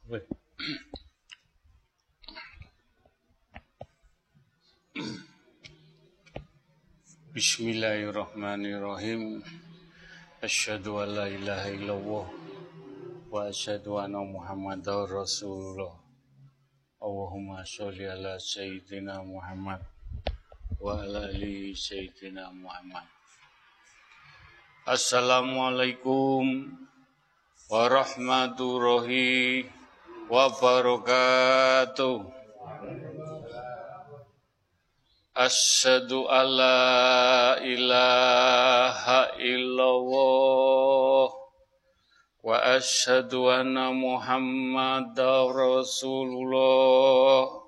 Bismillahirrahmanirrahim. Asyhadu an la ilaha illallah wa asyhadu anna Muhammadar Rasulullah. Allahumma sholli ala sayyidina Muhammad wa ala ali sayyidina Muhammad. Assalamualaikum warahmatullahi wabarakatuh. Asyhadu alla ilaha illallah wa asyhadu anna Muhammadar Rasulullah.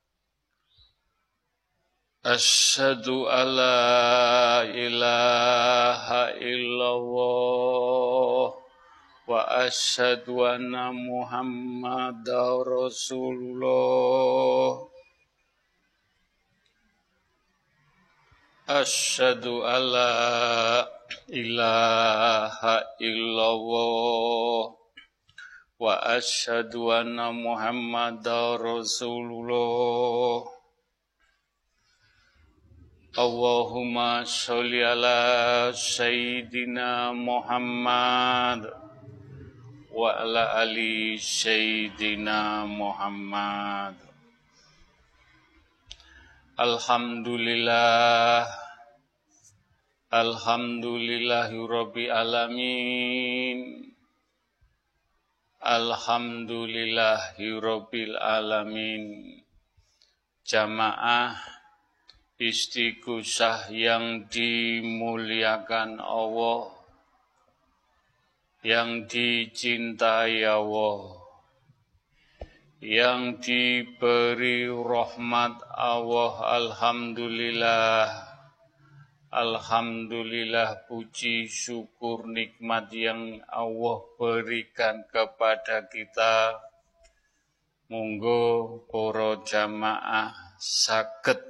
Asyhadu alla ilaha illallah wa asyhadu anna Muhammadar Rasulullah. Asyhadu alla ilaha illallah wa asyhadu anna Muhammadar Rasulullah. Allahumma sholli ala sayyidina Muhammad wa ala ali sayyidina Muhammad. Alhamdulillahirabbil alamin. Alhamdulillahirabbil alamin. Jamaah istighosah yang dimuliakan Allah, yang dicintai Allah, yang diberi rahmat Allah. Alhamdulillah, puji syukur nikmat yang Allah berikan kepada kita. Monggo para jamaah saged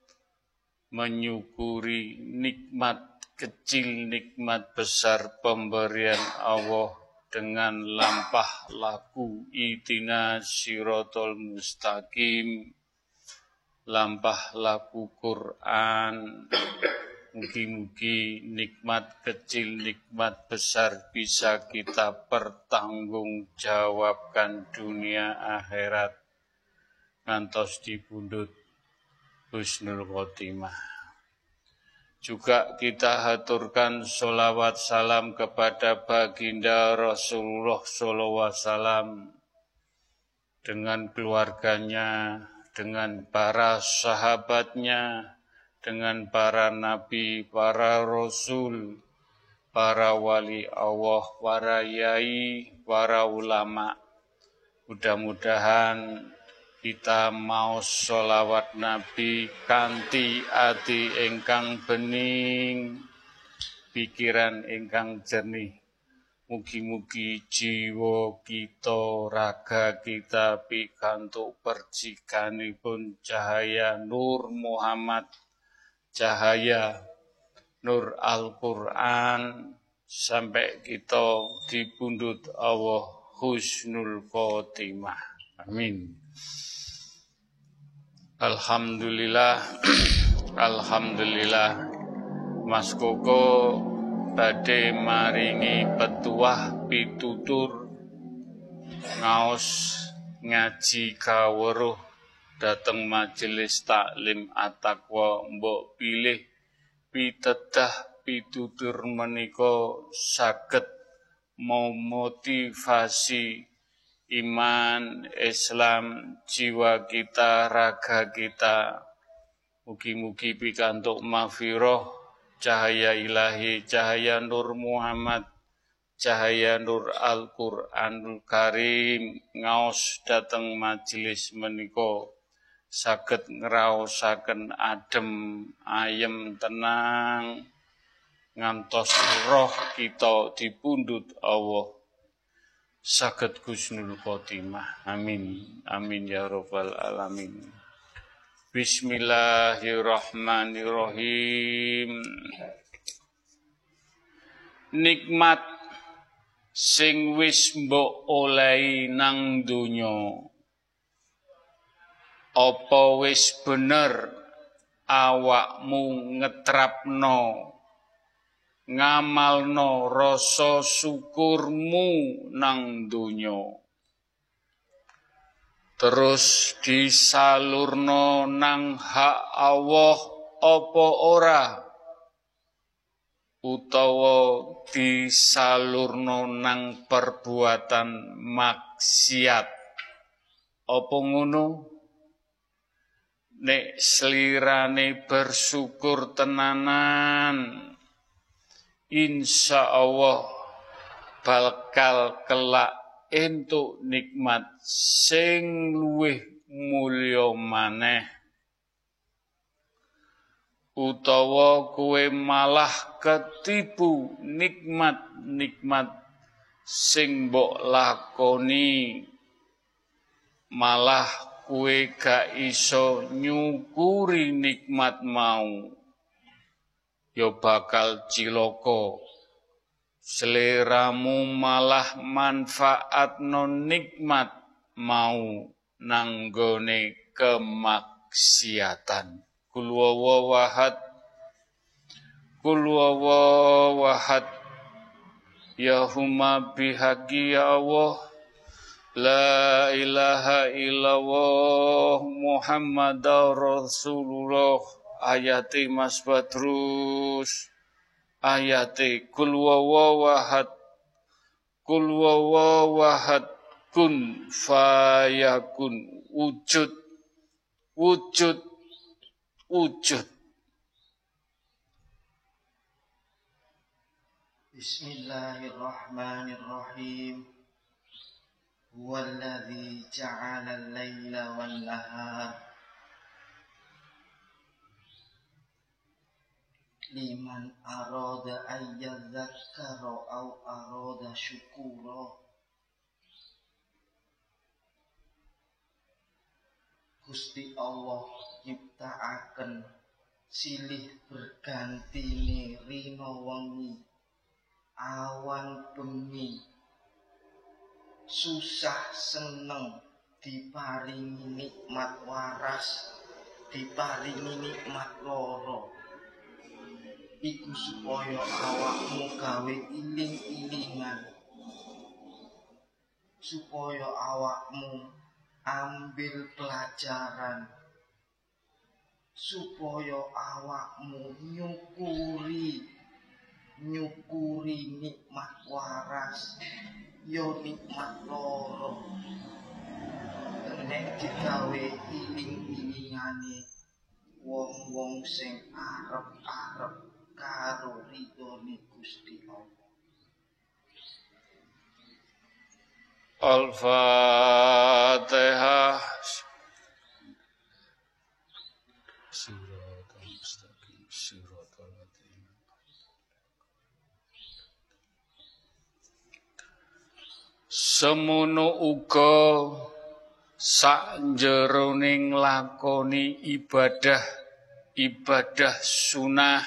menyukuri nikmat kecil, nikmat besar pemberian Allah dengan lampah laku ihdina siratal mustaqim, lampah laku Quran. Mugi-mugi nikmat kecil, nikmat besar bisa kita pertanggungjawabkan dunia akhirat ngantos dipundhut husnul khotimah. Juga kita haturkan sholawat salam kepada baginda Rasulullah SAW dengan keluarganya, dengan para sahabatnya, dengan para nabi, para rasul, para wali Allah, para yai, para ulama. Mudah-mudahan kita mau sholawat Nabi kanthi ati ingkang bening, pikiran ingkang jernih. Mugi-mugi jiwa kita, raga kita pikantuk percikanipun cahaya Nur Muhammad, cahaya Nur Al-Quran, sampai kita dipundhut Allah husnul khotimah. Amin. Alhamdulillah, Mas Koko badhe maringi petuah pitutur ngaos ngaji kawruh dateng majelis taklim at-taqwa. Mbok pilih pitedah pitutur menika saged memotivasi iman, Islam, jiwa kita, raga kita. Mugi-mugi pikantuk maghfirah, cahaya ilahi, cahaya Nur Muhammad, cahaya Nur Al-Quranul Karim ngaos dateng majelis menika saged ngraosaken adem, ayem, tenang ngantos roh kita dipundhut Allah saged husnul khotimah. Amin. Amin ya rabbal alamin. Bismillahirrahmanirrahim. Nikmat sing wis mbok olehi nang donya. Apa wis bener awakmu ngetrapno ngamalno rasa syukurmu nang donya. Terus disalurno nang hak Allah apa ora? Utawa disalurno nang perbuatan maksiat. Apa ngono? Nek slirane bersyukur tenanan, insya Allah bakal kelak entuk nikmat sing luwih mulya maneh. Utawa kowe malah ketipu nikmat-nikmat sing mbok lakoni, malah kowe gak iso nyukuri nikmat mau, ya bakal cilaka. Seleramu malah manfaatno nikmat mau nanggone kemaksiatan. Kul wawahad, kul wawahad, ya huma bihaqi ya Allah, la ilaha illallah Muhammadar Rasulullah. Ayati Mas Badrus, ayati kul wawahad, kul wawahad, kun fayakun, wujud, wujud, wujud. Bismillahirrahmanirrahim. Huwallazi ja'ala al-laila wan-nahar liman arada ayyadzakkara aw arada syukura. Gusti Allah nyiptakaken silih bergantine rina wengi, awan bengi, susah seneng, diparingi nikmat waras, diparingi nikmat loro. Iku supaya awakmu gawe iling-ilingan, supaya awakmu ambil pelajaran, supaya awakmu nyukuri nikmat waras, yo nikmat loro. Nek digawe iling-ilingane wong-wong sing arep-arep karo ridhone Gusti Allah. Al-Fatihah. Semono uga sakjeroning lakoni ibadah sunah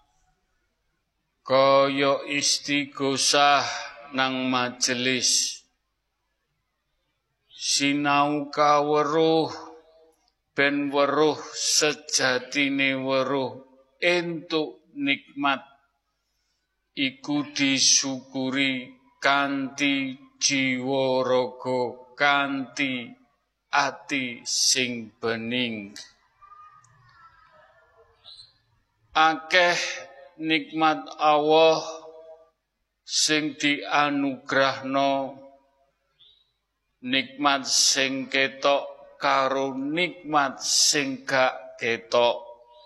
kaya istighosah nang majelis, sinau kaweruh ben weruh sejatine weruh entuk nikmat iku disyukuri kanthi jiwa raga, kanthi ati sing bening. Akeh nikmat Allah sing dianugrahno, nikmat sing ketok karo nikmat sing gak ketok.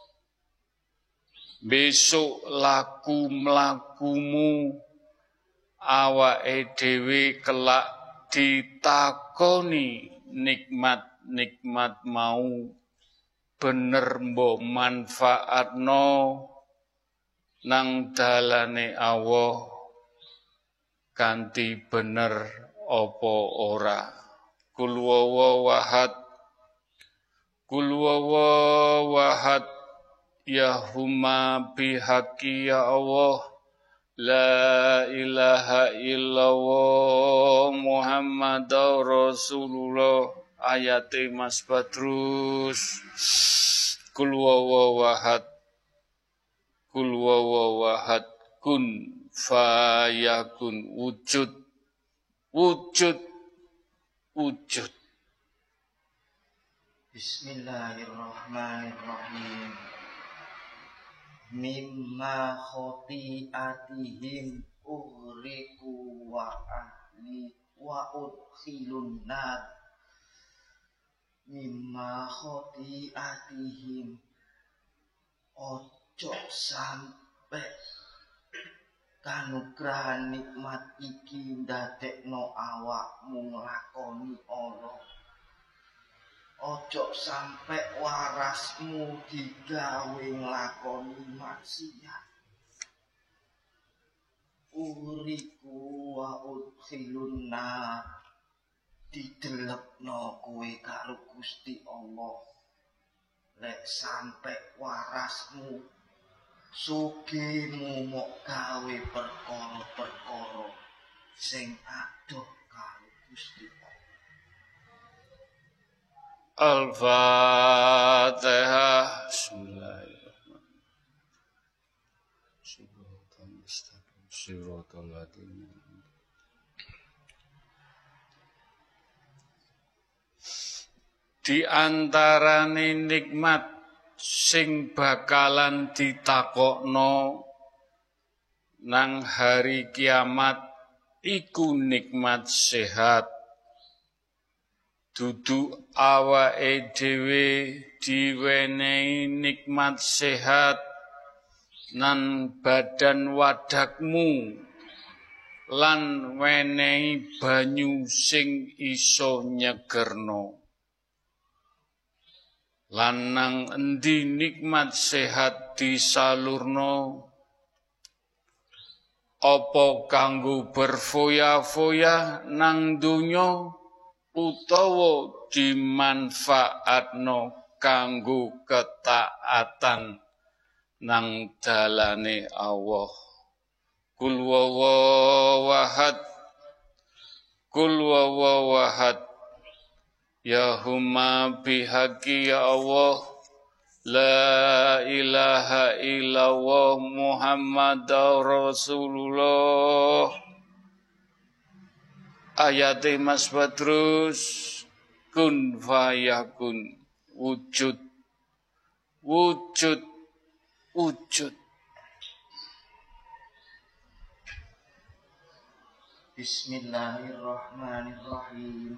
Besok laku mlakumu awake dhewe kelak ditakoni nikmat-nikmat mau bener mbok manfaatno nang dalane Allah kanthi bener apa ora. Kul wawahad, kul wawahad, ya huma bihaqi ya Allah, La ilaha illallah Muhammadur Rasulullah. Ayate Mas Badrus. Kul wawahad. Kul wawahad. Kun fayakun. Wujud. Wujud. Wujud. Bismillahirrahmanirrahim. Mimma khoti'atihim ughriqu wa ahli wa udkhilun nar. Mimma khoti'atihim, ojo sampe kanugrahan nikmat iki ndadekno awakmu nglakoni ala. Ojo sampe warasmu digawe nglakoni maksiat. Uriku wa udkhilun nar, didelepno kowe karo Gusti Allah. Lek sampe warasmu sugihmu mok gawe perkara-perkara sing adoh karo Gusti Allah. Al-Fatihah. Bismillahirrahmanirrahim. Di antarane nikmat sing bakalan ditakokno nang hari kiamat iku nikmat sehat. Dudu awake dhewe diwenehi nikmat sehat nan badan wadakmu lan wenehi banyu sing iso nyegerno. Lan nang endi nikmat sehat disalurno, apa kanggo berfoya-foya nang donya utawa dimanfaatno kanggo ketaatan nang dalane Allah. Kul wawahad. Kul wawahad. Ya huma bihaqi ya Allah. La ilaha illallah Muhammadur Rasulullah. Ayate Mas Badrus. Kun fayakun. Wujud. Wujud. Wujud. Bismillahirrahmanirrahim.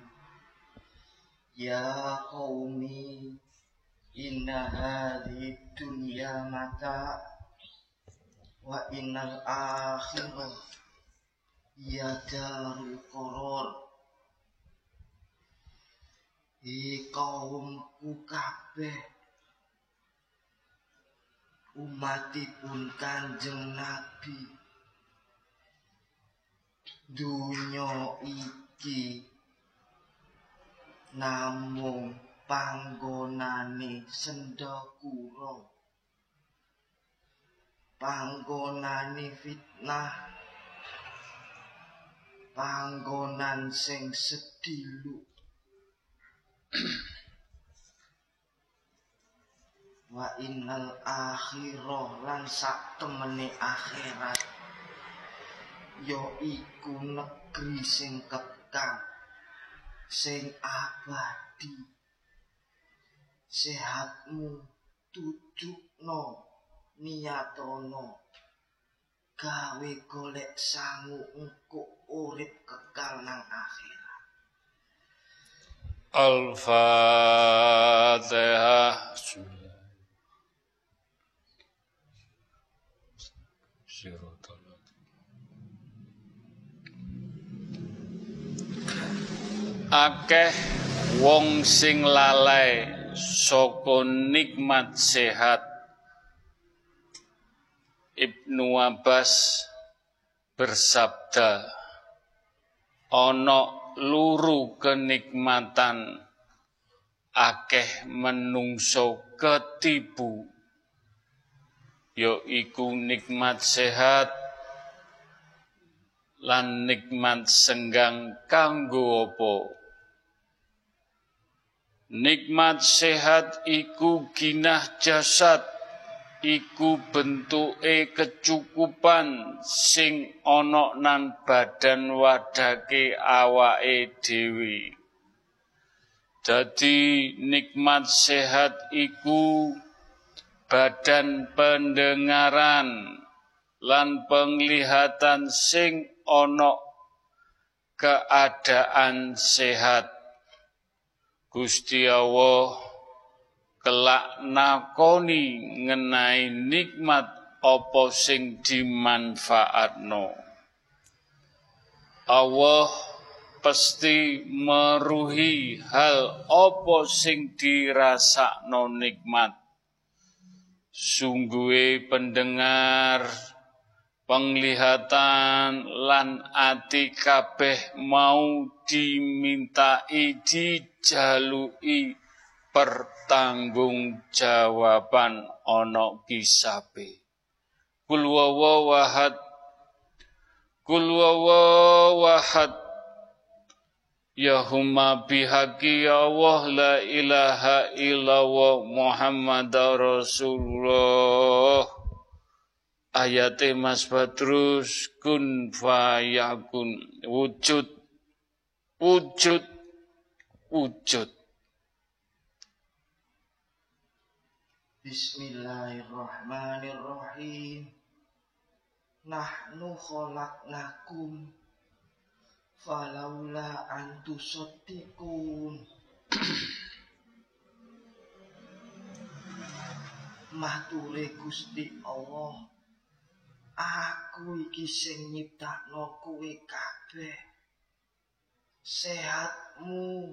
Ya qaumi inna hadhihi dunya mata wa innal akhirah ya darul qarar. Kaumku kabeh, umatipun Kanjeng Nabi, dunya iki namung panggonane sendakura, panggonane fitnah, panggonan sing sedilu. Wa innal akhirah lan sak temene akhirat ya iku negeri sing kekal, sing abadi. Sehatmu tujukno, niyatono, gawe golek sangu engko urip kekal nang akhirat. Al-Fatihah. Akeh wong sing lalai saka nikmat sehat. Ibnu Abbas bersabda, ana luru kenikmatan akeh menungso ketipu, yaiku nikmat sehat lan nikmat senggang kanggo apa? Nikmat sehat iku ginah jasad, iku bentuke kecukupan sing ana nan badan wadake awake dhewe. Dadi nikmat sehat iku badan pendengaran lan penglihatan sing ana keadaan sehat. Gusti Allah kelak nakoni ngenai nikmat apa sing dimanfaatno. Allah pasti meruhi hal apa sing dirasakno nikmat. Sungguhe pendengar, penglihatan lan ati kabeh mau dimintai dijaluki pertanggungjawaban ana kisabe. Kul huwallahu ahad, kul huwallahu ahad, ya huma bihaqi ya Allah la ilaha illallah Muhammadar Rasulullah. Ayate Mas Badrus, kun fayakun, wujud, wujud, wujud. Bismillahirrahmanirrahim. Nahnu khalaqnakum falaula antusaddiqun. Mature Gusti Allah, aku iki sing nyiptakno kowe kabeh. Sehatmu,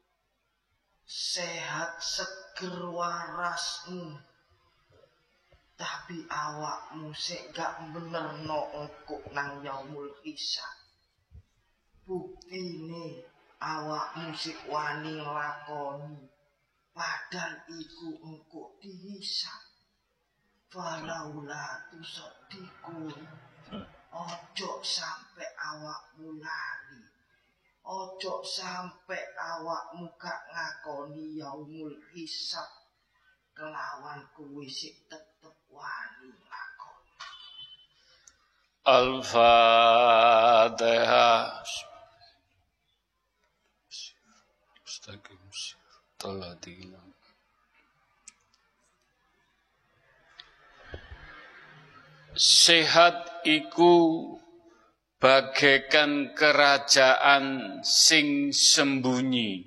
sehat seger warasmu. Tapi awakmu sik gak benerno engko nang yaumul hisab. Buktine awakmu sik wani lakoni, padahal iku engko dihisab. Falaula tusaddiqun, ojo sampe awakmu lali, ojo sampe awakmu gak ngakoni yaumul hisab, kelawan kuwi sik tetep wani ngakoni. Al-Fatihah. Sehat iku bagaikan kerajaan sing sembunyi,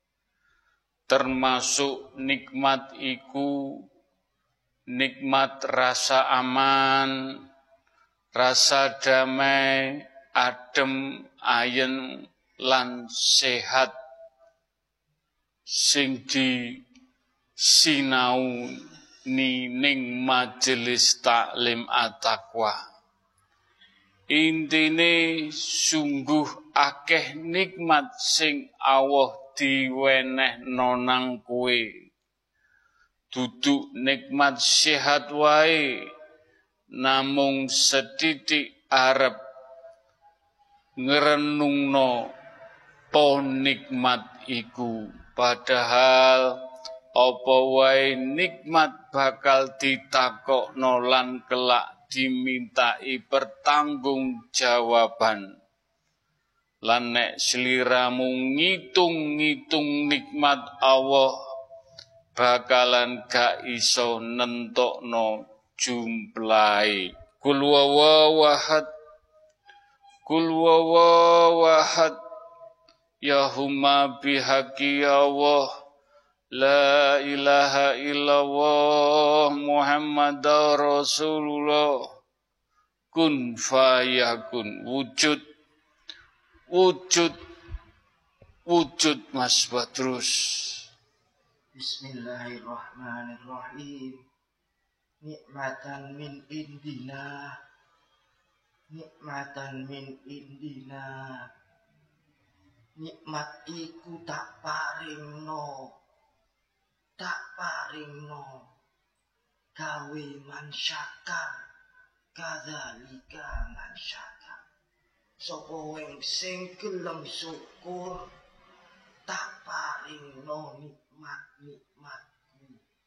termasuk nikmat iku nikmat rasa aman, rasa damai, adem, ayem lan sehat sing disinau ning majelis taklim at-taqwa. Intine sungguh akeh nikmat sing Allah diwenehno nang kowe. Duduk nikmat sehat wae, namung setitik arep ngrenungno po nikmat iku. Padahal apa wae nikmat bakal ditakokno lan kelak dimintai pertanggungjawaban. Lan nek sliramu ngitung-ngitung nikmat Allah, bakalan gak iso nentokno jumlahe. Kul huwallahu ahad, kul huwallahu ahad, ya huma bihaqi ya Allah, la ilaha illallah Muhammadar Rasulullah. Kun fayakun, wujud, wujud, wujud Mas Badrus. Bismillahirrahmanirrahim. Nikmatan min indina, nikmatan min indina. Nikmat iku tak paringno, gawe man syakar, kadzalika man syakar. sapa wong sing gelem syukur tak paringno nikmat-nikmatku.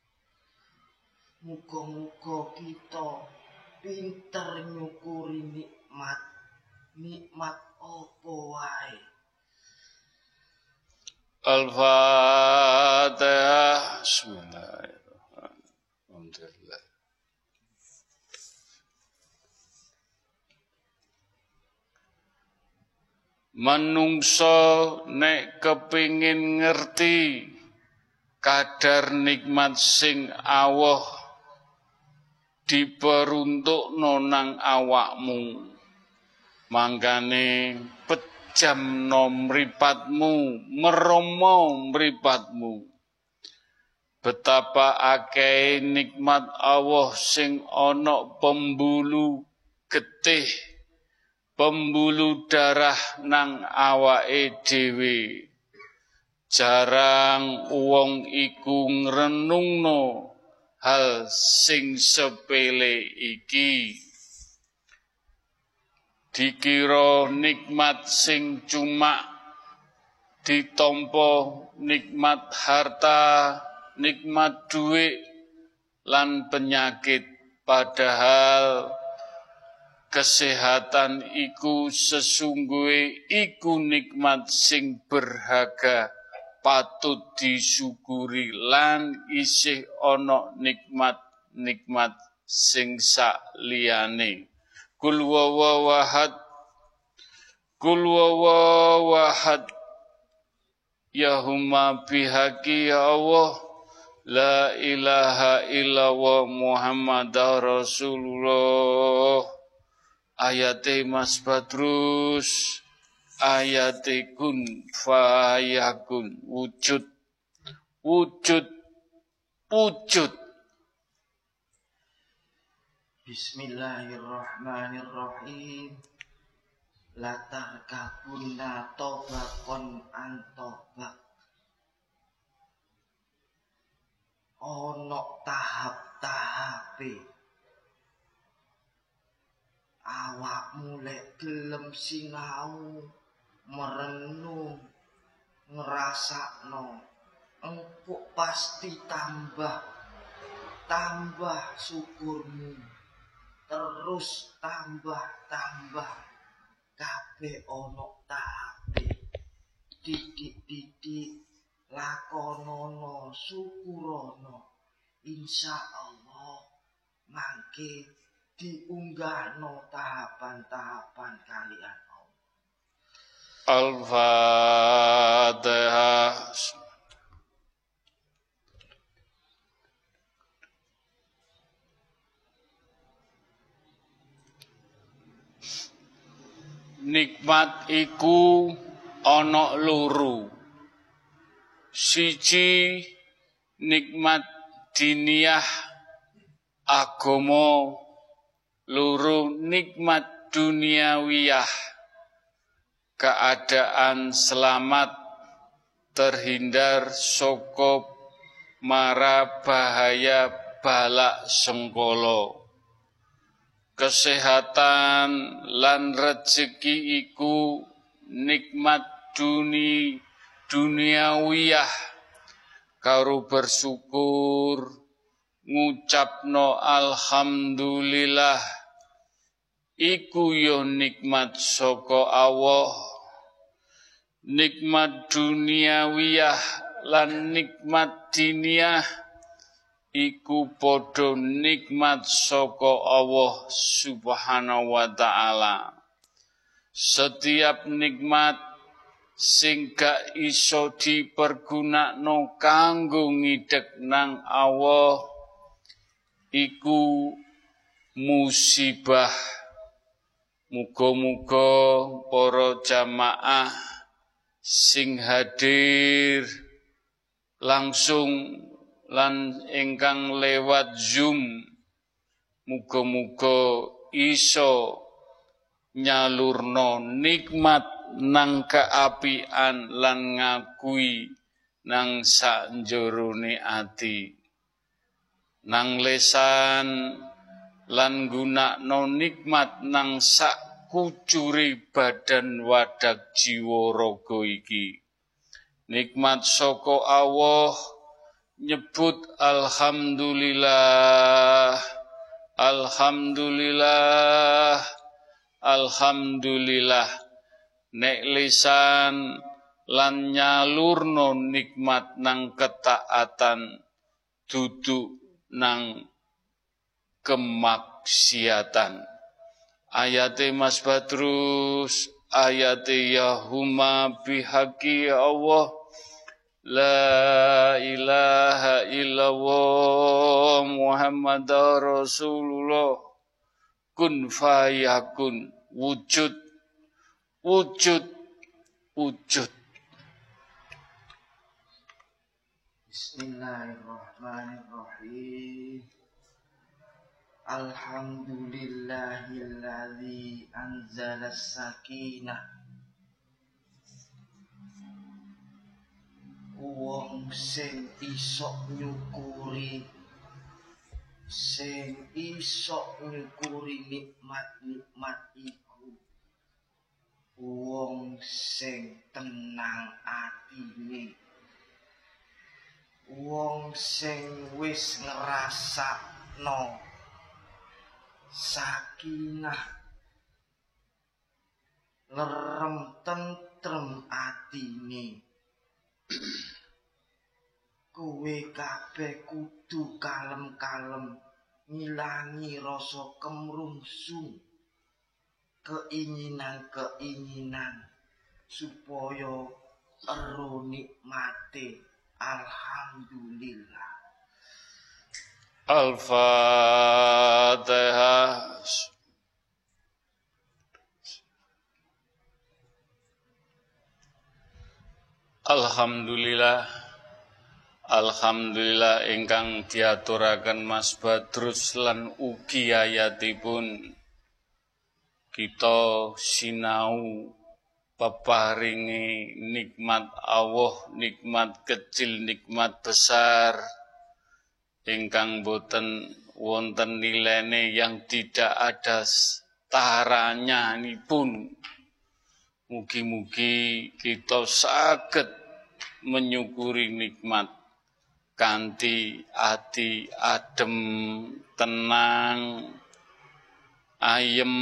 Muga-muga kita pinter nyukuri nikmat apa wae. Al-Fatihah. Bismillahirrahmanirrahim. Manungsa nek kepingin ngerti kadar nikmat sing Allah diperuntukno nang awakmu, mangkane pejamno mripatmu, meromo mripatmu. Betapa akeh nikmat Allah sing ana pembuluh getih, pembuluh darah nang awake dhewe. Jarang wong iku ngrenungno hal sing sepele iki. Dikira nikmat sing cuma ditampa nikmat harta, nikmat duit lan penyakit, padahal kesehatan iku sesungguhe iku nikmat sing berharga, patut disyukuri lan isih ana nikmat-nikmat sing saliyane. Kul wawahad, Yahumma bihaqi ya Allah, la ilaha illallah Muhammadar Rasulullah. Ayate Mas Badrus, ayate kun fayakun, wujud. Bismillahirrahmanirrahim. Latar kabunna tobakon antobak. Ono tahap-tahape. Awakmu lek gelem sinau, merenung, ngrasakno, engko pasti tambah syukurmu. Terus tambah kabeh ono tahape. Didik lakonono syukurono, insyaallah mangke diunggahno tahapan-tahapan kalian Allah. Al-Fatihah. Nikmat iku ana loro. Siji nikmat diniyah agama, loro nikmat duniawiyah, keadaan selamat terhindar saka mara bahaya balak sengkala. Kesehatan lan rezeki iku nikmat duniawiyah, karo bersyukur ngucapno alhamdulillah iku yo nikmat saka Allah. Nikmat duniawiyah lan nikmat diniyah iku padha nikmat saka Allah Subhanahu wa ta'ala. Setiap nikmat sing gak iso dipergunakno kanggo ngidek nang Allah iku musibah. Muga-muga para jamaah sing hadir langsung lan ingkang lewat Zoom, muga-muga iso nyalurno nikmat nang keapian lan ngakui nang sakjerone ati, nang lesan lan gunakno nikmat nang sak kucuri badan wadak jiwa raga iki. Nikmat saka Allah nyebut alhamdulillah, alhamdulillah, alhamdulillah. Nek lisan lan nyalurno nikmat nang ketaatan duduk nang kemaksiatan. Ayate Mas Badrus, ayate Yahuma bihaqi Allah, la ilaha illallah Muhammad Rasulullah, kun fayakun, wujud, wujud, wujud. Bismillahirrahmanirrahim. Alhamdulillahilladzi anzala sakinah. Wong sing iso nyukuri, nikmat-nikmat iku wong sing tenang atine, wong sing wis ngrasakno sakinah, lerem tentrem atine. Kowe kabeh kudu kalem-kalem ngilangi rasa kemrungsung, keinginan-keinginan supaya ero nikmate. Alhamdulillah. Al-Fatihah. Alhamdulillah, alhamdulillah ingkang diaturaken Mas Badrus lan ugi ayatipun kita sinau peparingi nikmat Allah, nikmat kecil, nikmat besar ingkang boten wonten nilainya yang tidak ada taranya nipun. Mugi-mugi kita saged menyukuri nikmat kanthi ati adem, tenang, ayem,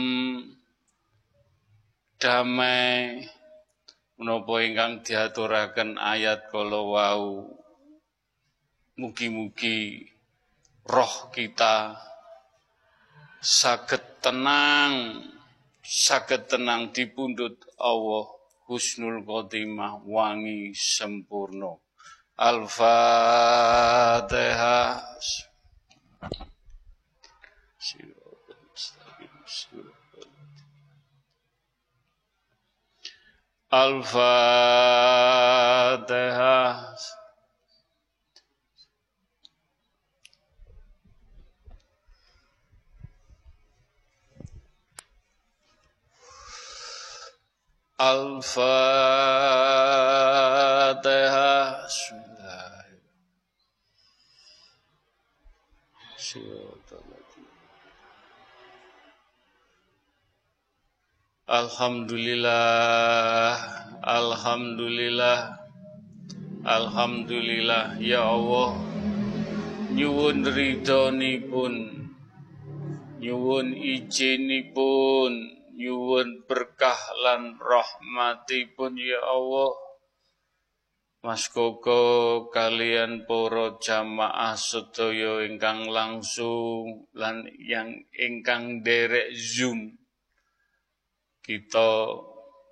damai, menapa ingkang diaturaken ayat kala wau. Mugi-mugi roh kita saged tenang dipundhut Allah, husnul khotimah, wangi sempurna. Al-Fatihah. Al-Fatihah. Al-Fatihah. Alhamdulillah, alhamdulillah, alhamdulillah. Ya Allah, nyuwun ridhonipun, nyuwun izinipun, nyuwun berkah lan rahmatipun ya Allah. Mas Koko kalian para jamaah sedaya ingkang langsung lan yang ingkang derek Zoom, kita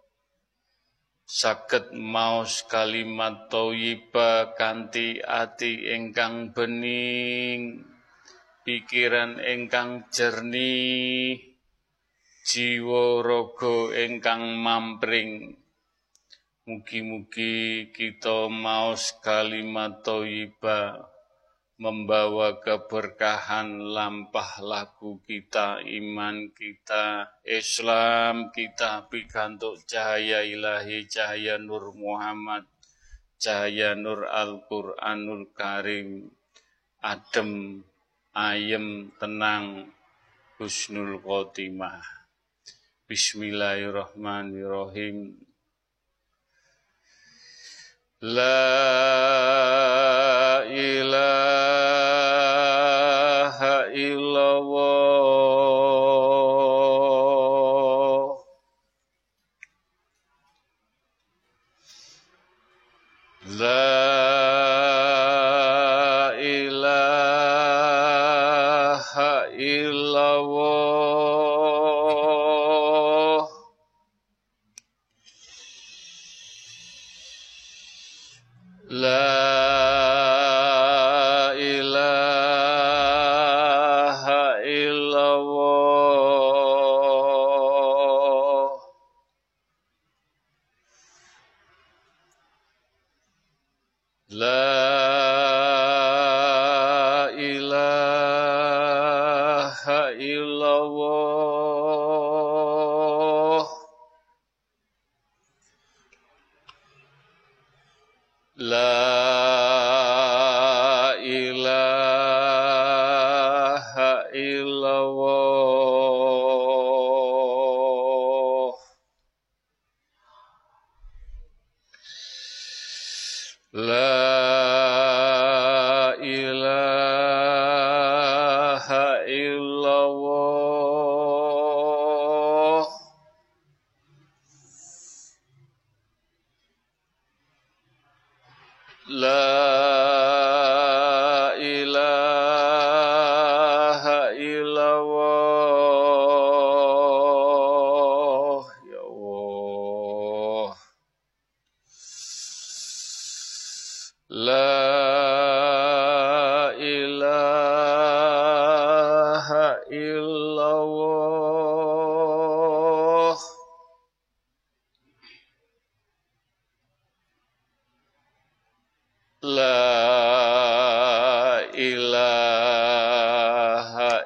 saged maos kalimat thayyibah kanthi ati ingkang bening, pikiran ingkang jernih, jiwa raga ingkang mampring. Mugi-mugi kita maos kalimat thayyibah membawa keberkahan lampah laku kita, iman kita, Islam kita, pikantuk cahaya ilahi, cahaya nur Muhammad, cahaya nur Al-Quranul Karim, adem, ayem, tenang, husnul khotimah. Bismillahirrahmanirrahim. La ilaha illallah. La ilaha illallah. La ilaha illallah. La ilaha illallah. La ilaha illallah. La ilaha illallah. La ilaha illallah. Ya Allah. La ilaha illallah. La ilaha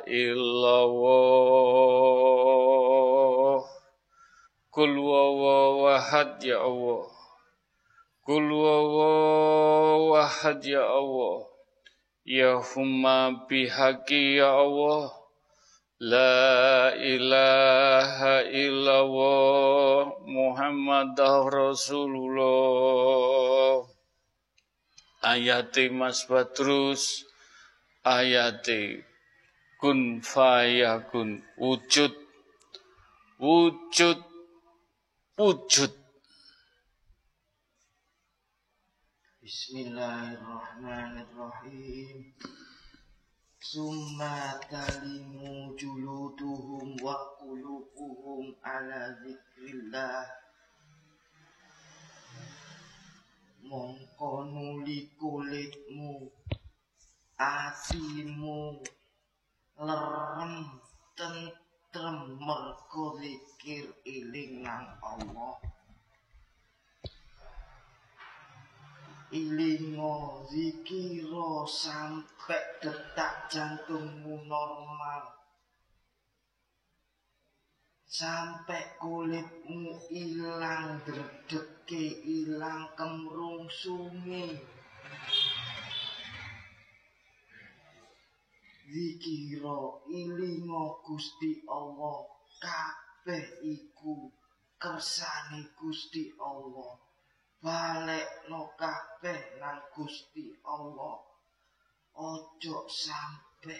illallah. Qul huwallahu ahad ya Allah. Qul huwallahu ahad ya Allah. Ya humma bihaqi ya Allah. La ilaha illallah Muhammadah Rasulullah. Ayate Mas Badrus, ayate kun fayakun, wujud, wujud, wujud. Bismillahirrahmanirrahim. Summa talimu juluduhum wa qulubuhum ala zikrillah. Mongko nuli kulitmu, atimu lerem tentrem mergo zikir eling nang Allah. Ilingo zikiro sampai detak jantungmu normal, sampai kulitmu ilang dredege, ilang kemrungsunge. Zikiro ilingo Gusti Allah, kabeh iku kersane Gusti Allah. Balekno kabeh nang Gusti Allah. Ojo sampe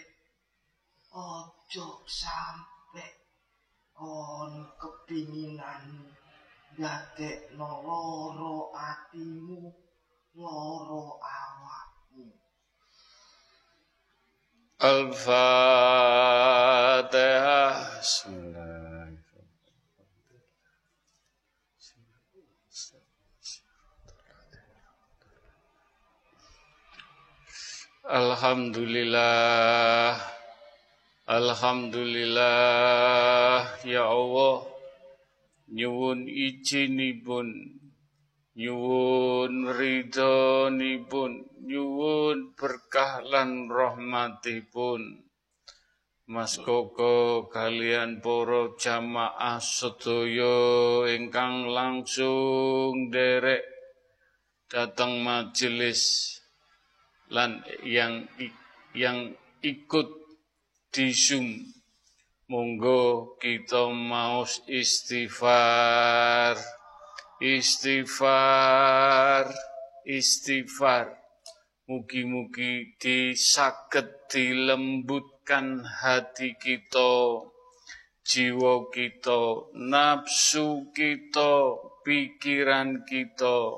on kepinginan dadekno loro atimu, loro awakmu. Al-Fatihah. Alhamdulillah, alhamdulillah ya Allah, nyuwun izinipun, nyuwun ridhonipun, nyuwun berkah lan rahmatipun. Mas Koko kalian para jamaah sedaya ingkang langsung derek datang majelis lan yang ikut di Zoom Monggo kita maos istighfar, istighfar, istighfar. Mugi-mugi disaged dilembutkan hati kita, jiwa kita, nafsu kita, pikiran kita.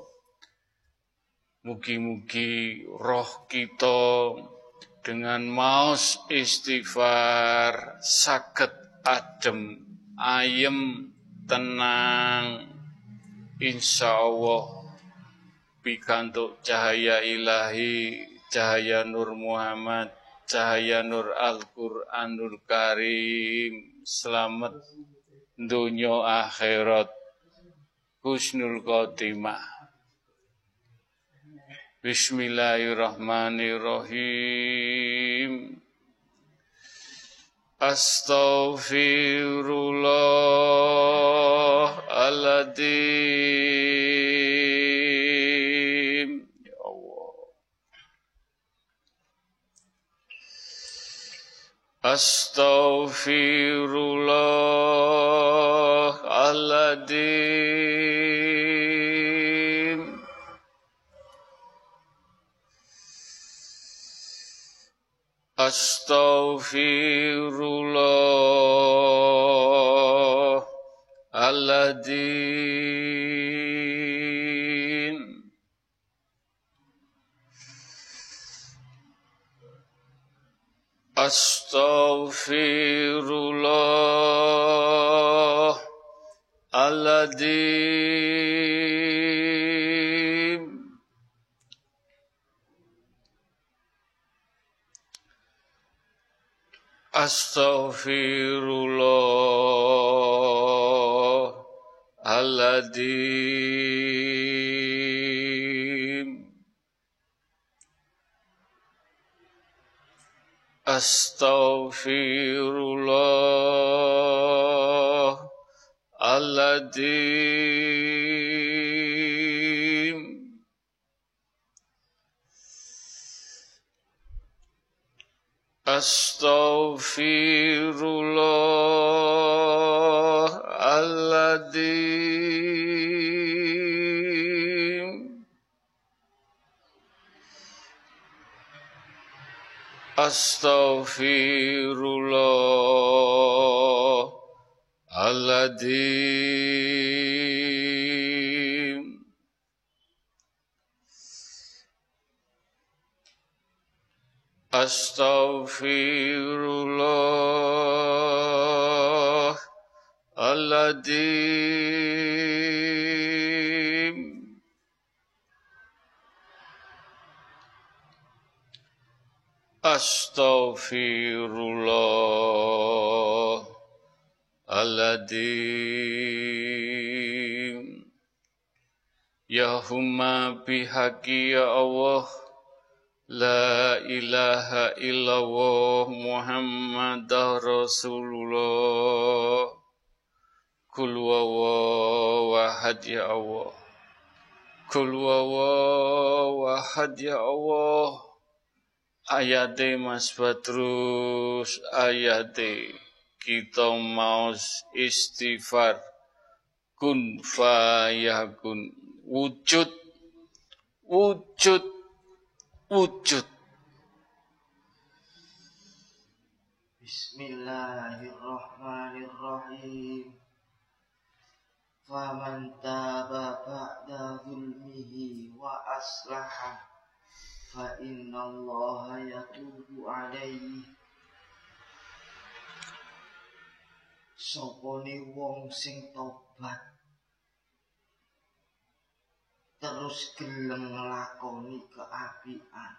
Mugi-mugi roh kita dengan maos istighfar saged adem, ayem, tenang, insyaallah pikantuk cahaya ilahi, cahaya Nur Muhammad, cahaya Nur Al-Qur'anul Karim, selamat dunya akhirat, husnul khotimah. Bismillahirrahmanirrahim. Astaghfirullahaladzim. Ya Allah. Astaghfirullahaladzim. Astaghfirullahaladzim. Astaghfirullahaladzim. Astaghfirullahaladzim. Astaghfirullahaladzim. Astaghfirullahaladzim. Astaghfirullahaladzim. Astaghfirullahaladzim. Astaghfirullahaladzim. Ya Humma bihaqi ya Allah, la ilaha illallah Muhammadah Rasulullah. Kul wawahad ya Allah. Kul wawahad ya Allah. Ayate Mas Badrus, ayate kita maos istighfar, kun fayakun, wujud, wujud, wujud. Bismillahirrahmanirrahim. Faman taba ba'da zulmihi wa aslaha fa innallaha yatubu alaihi. Sopone wong sing tobat terus gelem nglakoni keapian,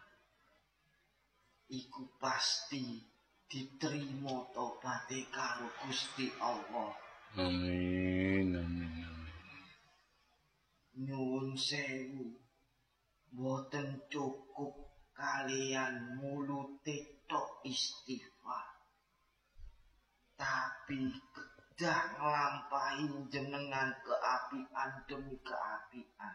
iku pasti diterima tobaté karo Gusti Allah. Amin, amin, amin. Nyuwun sewu, boten cukup kalian mulute tok istighfar, tapi kedah nglampahi jenengan keapian demi keapian.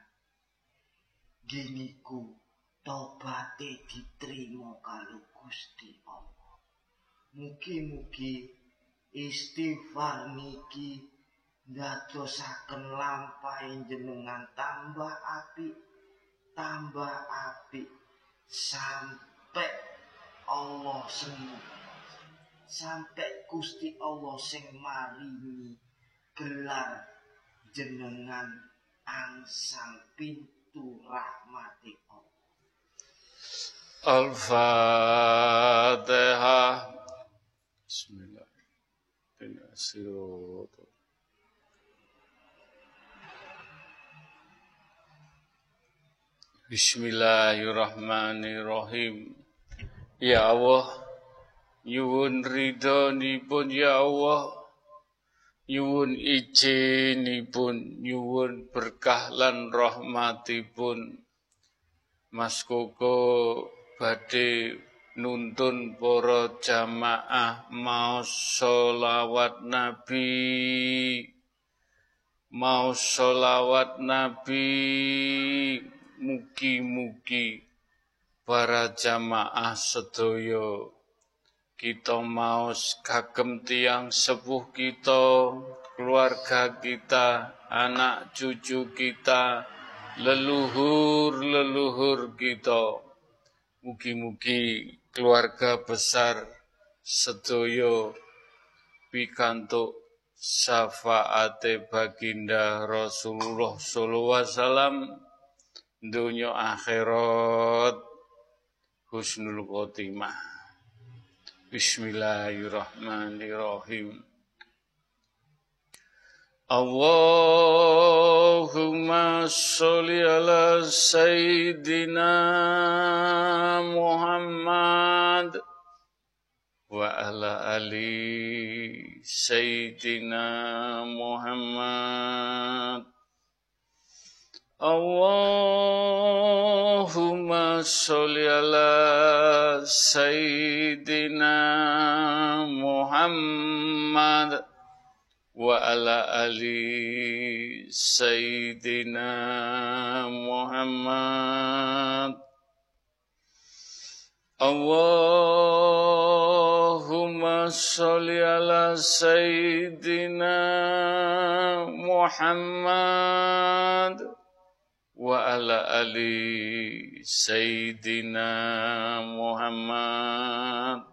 Giniku tobate diterima karo Gusti Allah. Mugi-mugi istighfar niki ndadosaken lampahing jenengan tambah apik sampai Allah sampai Gusti Allah sing maringi gelar jenengan angsang pintu rahmati Allah. Al-Fatihah. Bismillahirrahmanirrahim. Bismillahirrahmanirrahim. Ya Allah, nyuwun ridhonipun ya Allah, nyuwun izinipun, nyuwun berkah lan rahmatipun. Mas Koko badhe nuntun para jamaah maos sholawat Nabi, mugi-mugi para jamaah sedaya kita maos kagem tiyang sepuh kita, keluarga kita, anak cucu kita, leluhur kita. Mugi-mugi keluarga besar sedaya pikantuk syafaate baginda Rasulullah sallallahu alaihi wasallam, dunya akhirat husnul khotimah. Bismillahirrahmanirrahim. Allahumma sholli ala Sayyidina Muhammad wa ala ali Sayyidina Muhammad. Allahumma sholli ala Sayyidina Muhammad wa ala ali Sayyidina Muhammad. Allahumma sholli ala Sayyidina Muhammad wa ala ali Sayyidina Muhammad.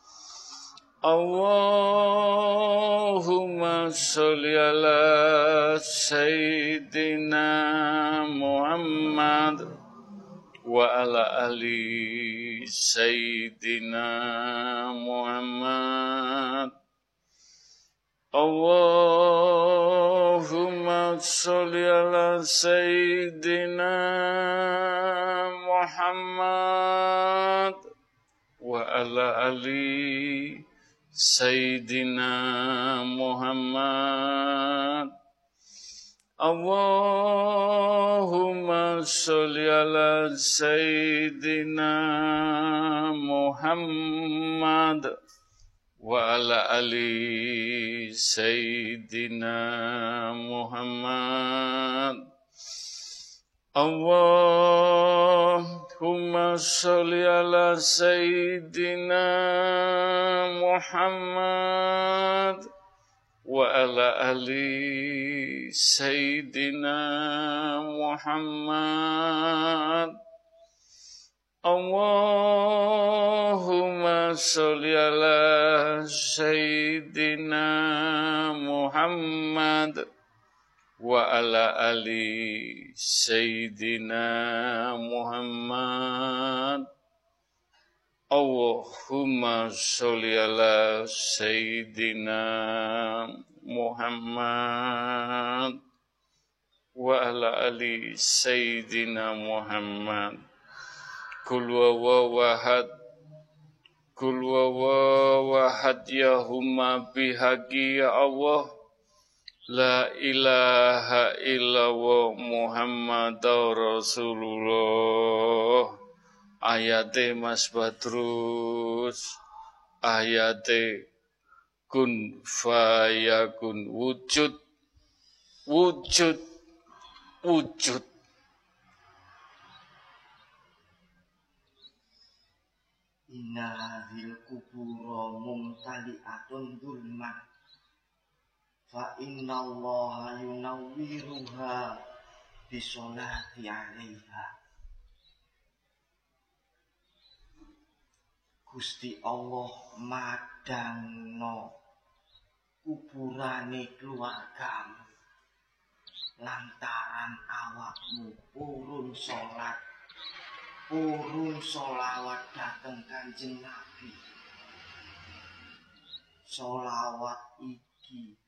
Allahumma sholli ala Sayyidina Muhammad wa ala ali Sayyidina Muhammad. Allahumma sholli ala Sayyidina Muhammad wa ala ali Sayyidina Muhammad. Allahumma sholli ala Sayyidina Muhammad wa ala ali Sayyidina Muhammad. Allahumma sholli ala Sayyidina Muhammad wa ala ali Sayyidina Muhammad. Allahumma sholli ala Sayyidina Muhammad wa ala ali Sayyidina Muhammad. Allahumma sholli ala Sayyidina Muhammad wa ala ali Sayyidina Muhammad. Kul wawahad ya humma bihaqi ya Allah. La ilaha illallah Muhammadur Rasulullah. Ayate Mas Badrus, ayate kun fayakun, wujud. Inna hadhil kubura mumtali'atun dzulman fa innallaha yunawwiruha bisolati 'alaiha. Gusti Allah madangno kuburane keluargamu lantaran awakmu purun sholawat dateng Kanjeng Nabi. Sholawat iki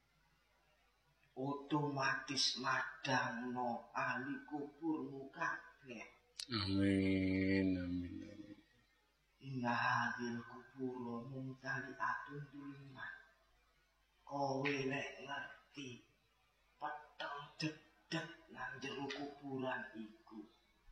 otomatis madangno ahli kuburmu kabeh. Amin, amin. Inna hadil kuburo mumtali atun duliman. Kowe nek ngerti peteng dedek nang jero kuburan iku.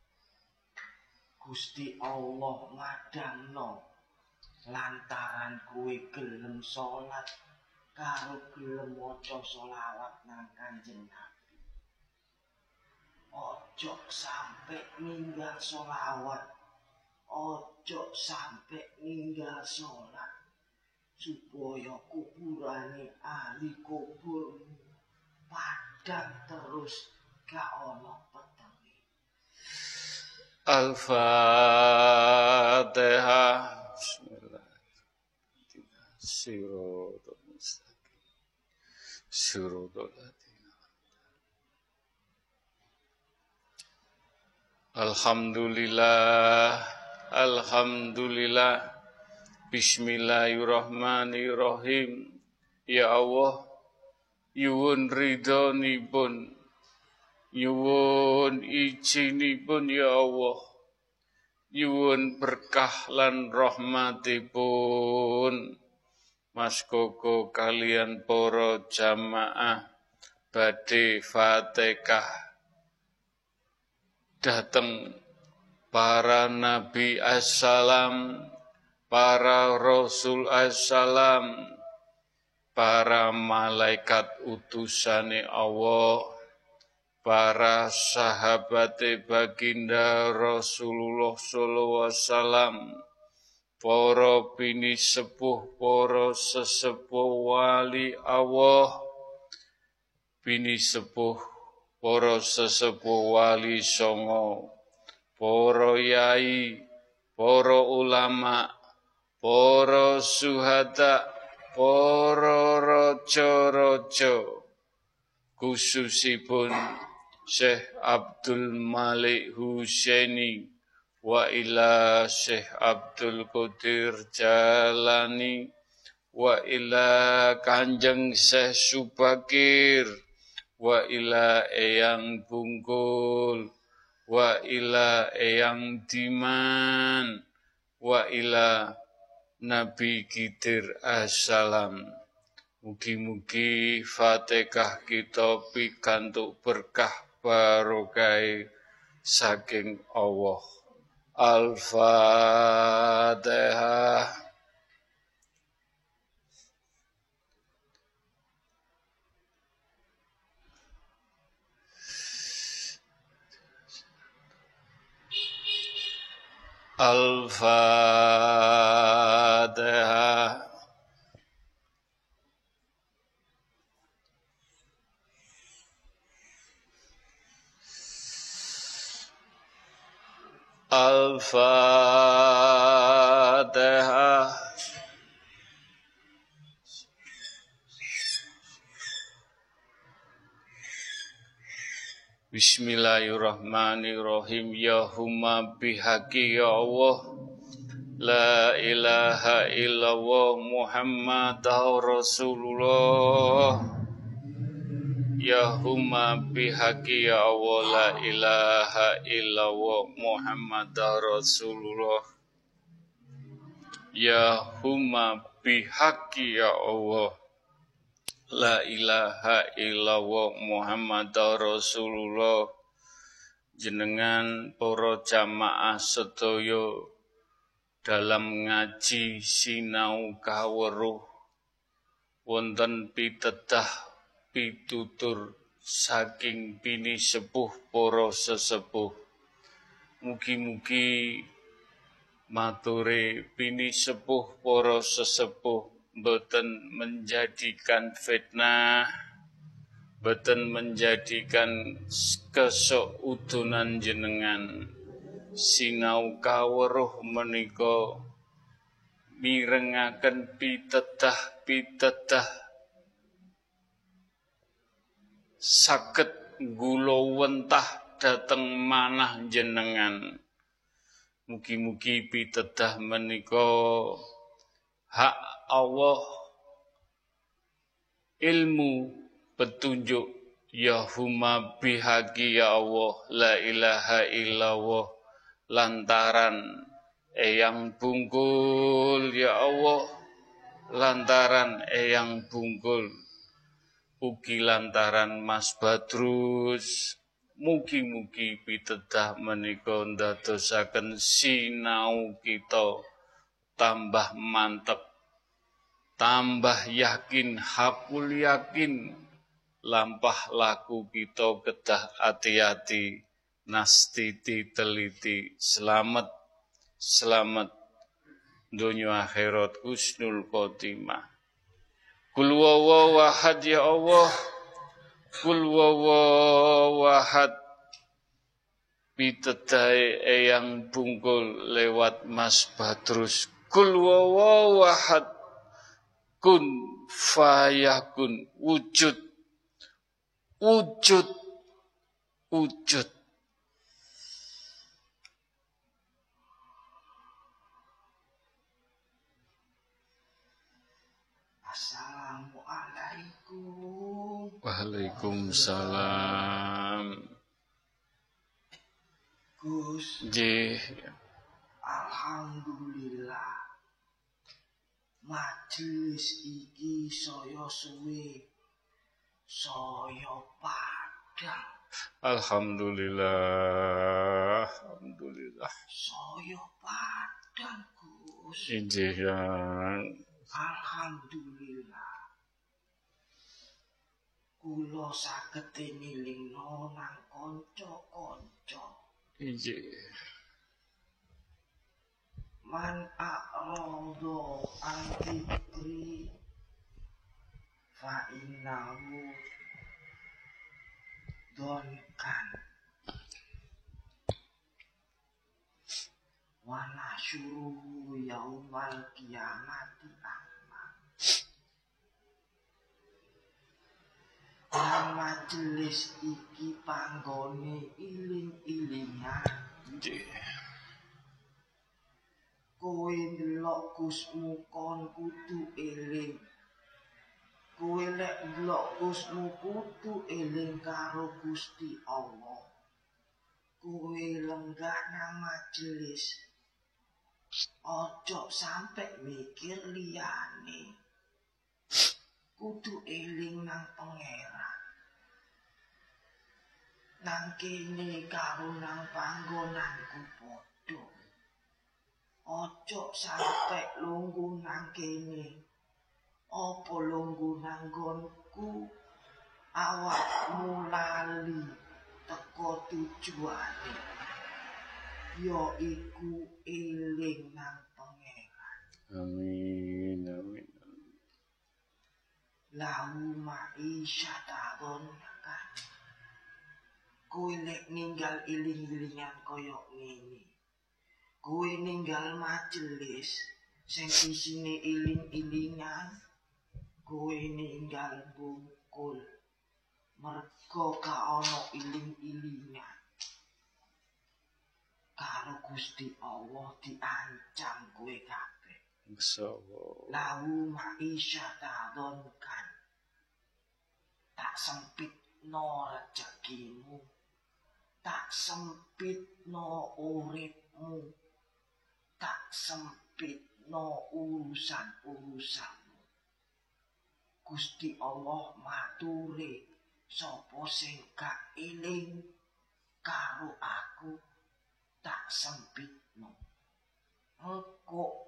Gusti Allah madangno lantaran kowe gelem salat karo gelem maca sholawat nang Kanjeng Nabi. Ojo sampe ninggal sholawat, ojo sampe ninggal sholat, supaya kuburane ahli kuburmu padang terus gak ono petenge. Al-Fatihah. Siratal mustaqim. Siratal ladzina. Alhamdulillah, alhamdulillah. Bismillahirrahmanirrahim. Ya Allah, nyuwun ridhonipun, nyuwun ijinipun ya Allah, nyuwun berkah lan rahmatipun. Mas Koko kalian para jamaah badhe Fatihah dateng para nabi assalam, para rasul assalam, para malaikat utusane Allah, para sahabate baginda Rasulullah sallallahu alaihi wasallam, para bini sepuh, para sesepuh wali Allah, bini sepuh, para sesepuh wali songo, para yai, para ulama, para syuhada, para raja-raja, khususipun Syekh Abdul Malik Husaini wa ila Syekh Abdul Qadir Jalani wa ila Kanjeng Syekh Subakir wa ila Eyang Bungkul wa ila Eyang Diman wa ila Nabi Khidir assalam. Mugi-mugi Fatihah kita pikantuk berkah barokah saking Allah. Al-Fatihah. Al-Fatihah. Al-Fatihah. Bismillahirrahmanirrahim. Ya humma bihaqi ya Allah, la ilaha illallah Muhammadur Rasulullah. Ya humma bihaqi ya Allah, la ilaha illallah Muhammadur Rasulullah. Ya humma bihaqi ya Allah, la ilaha illallah Muhammadur Rasulullah. Jenengan para jamaah sedaya dalam ngaji sinau kaweruh wonten pitedah pitutur saking bini sepuh para sesepuh. Mugi-mugi mature bini sepuh para sesepuh boten menjadikan fitnah, boten menjadikan kesaudunan jenengan sinau kawruh menika mirengaken pitedah saged gulawentah dhateng manah jenengan. Mugi-mugi pitedah menika hak Allah, ilmu petunjuk ya huma bihaqi ya Allah la ilaha illallah lantaran eyang bungkul ya Allah, lantaran eyang bungkul ugi lantaran Mas Badrus. Mugi-mugi pitedah menika ndadosaken sinau kita tambah mantep, tambah yakin, hakul yakin, lampah laku kita kedah hati-hati, nastiti teliti, selamat dunia akhirat husnul khotimah. Kul huwallahu ahad ya Allah, kul huwallahu ahad. Pitedah eyang bungkul lewat Mas Badrus. Kul huwallahu ahad, kun fayakun, wujud. Assalamualaikum. Waalaikumsalam. Gus, Nggih. alhamdulillah. Majelis iki saya suwe, saya padang. Alhamdulillah. Saya padang, Gus. Nggih, Alhamdulillah. Kula saged nilingno nang kanca-kanca. nggih. Man a'rada an dzikri fa innahu donkan wa nasyuruhu yaumal qiyamati a'ma. Majelis iki panggone iling-ilingan. Nggih. Kowe ndelok Gusmu kon kudu eling. Kowe lek ndelok Gusmu kudu eling karo Gusti Allah. Kowe lenggah nang majelis. Ojo sampe mikir liyane. Kudu eling nang pangeran. Nang kene karo nang panggonanku padha. Ojo sampe lungguh nang kene. Apa lungguh nang nggonku awakmu lali teko tujuane. Ya iku eling nang pangeran. Amin. Lahu ma'isyatadon kan. Kowe lek ninggal iling-ilingan koyok ngene. Kowe ninggal majelis sing isine iling-ilingan, kowe ninggal bungkul mergo ka ana iling-ilingan. Karo Gusti Allah diancam kowe kabeh. Masyaallah. Lahu ma'isyatadon kan. Tak sempitno rezekimu, tak sempitno uripmu, tak sempitno urusan-urusanmu. Gusti Allah mature sapa sing gak eling karo aku tak sempitno. Engko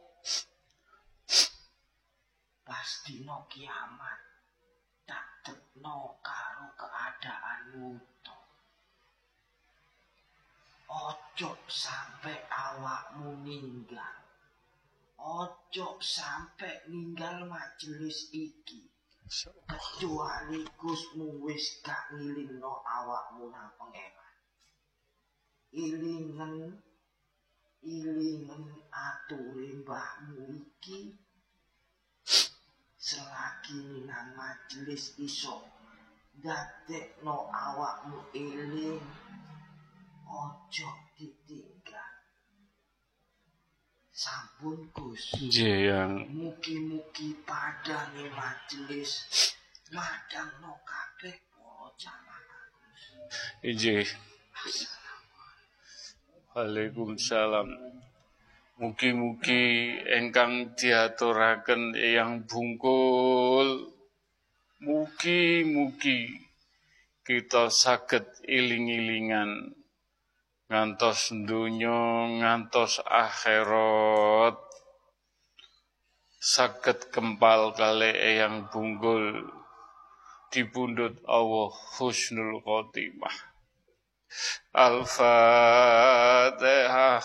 pas dina kiamat tak tekno karo keadaanmu to. Ojo sampe awakmu ninggal. Ojo sampe ninggal majelis iki. kecuali Gusmu wis gak ngilingno awakmu nang pangeran. Ilingen ature mbahmu iki selagi nang majelis iso dadekno awakmu eling, ojo ditinggal. Sampun Gus. Yang Mugi-mugi padange majelis madangno kabeh para jamaah Gus. Ije. Waalaikumsalam. Mugi-mugi ingkang diaturaken Eyang Bungkul, mugi-mugi kita saged iling-ilingan ngantos donya ngantos akhirat saged kempal kalih Eyang Bungkul dipundhut Allah husnul khotimah. Al-Fatihah.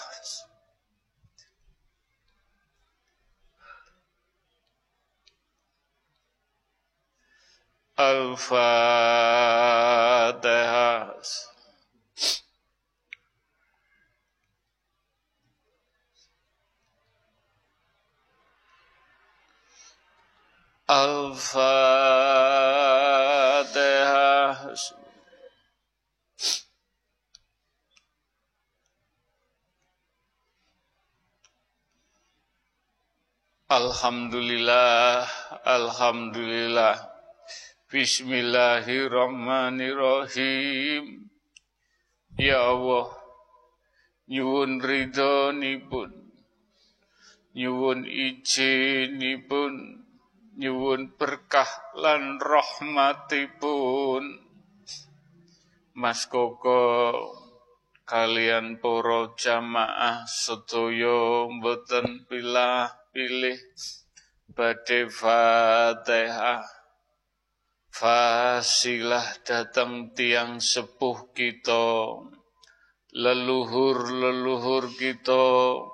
Al-Fatihah. Al-Fatihah. Alhamdulillah, alhamdulillah. Bismillahirrahmanirrahim. Ya Allah, nyuwun ridhonipun, nyuwun ijinipun, nyuwun berkah lan rahmatipun. Mas Koko kalian para jamaah sedaya mboten pilih badhe Fatihah. Fasilah datang tiang sepuh kita, leluhur kita,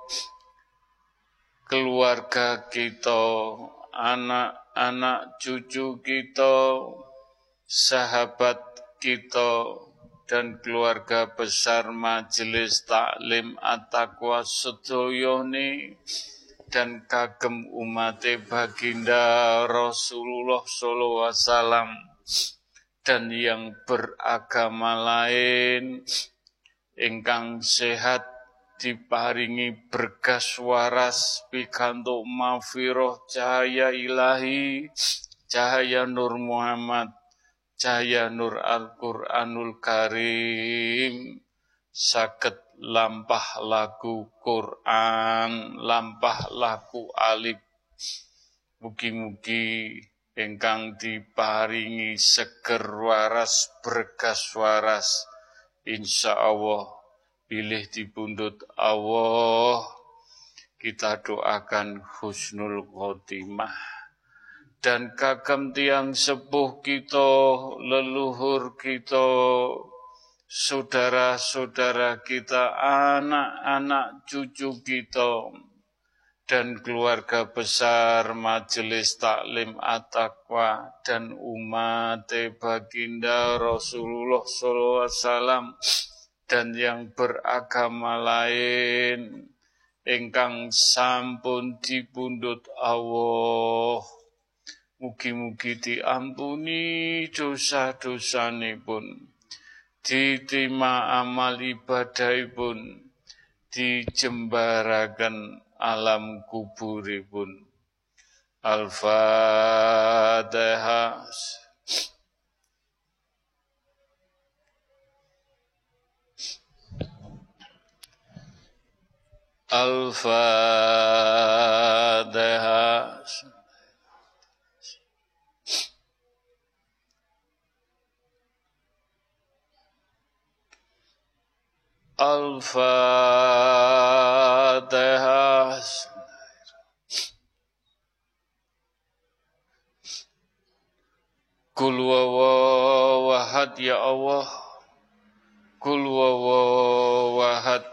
keluarga kita, anak-anak cucu kita, sahabat kita, dan keluarga besar Majelis Taklim At-Taqwa sedayane dan kagem umate baginda Rasulullah sallallahu alaihi wasallam dan yang beragama lain ingkang sehat diparingi berkas waras pikantuk maghfirah cahaya ilahi, cahaya Nur Muhammad, cahaya Nur Al-Qur'anul Karim, saged lampah lagu Quran, lampah lagu alif. Mugi-mugi ingkang diparingi seger waras, berkas waras, insyaallah bilih dipundhut Allah. Kita doakan husnul khotimah. Dan kagem tiang sepuh kita, leluhur kita, saudara-saudara kita, anak-anak cucu kita, dan keluarga besar Majelis Taklim At-Taqwa dan umat baginda Rasulullah SAW dan yang beragama lain ingkang sampun dipundhut Allah. Mugi-mugi diampuni dosa-dosanipun, diterima amal ibadahipun, dijembaraken alam kuburipun. Al-Fatihah. Al-Fatihah. Al-Fatihah. Qul huwallahu ahad ya Allah. Qul huwallahu ahad.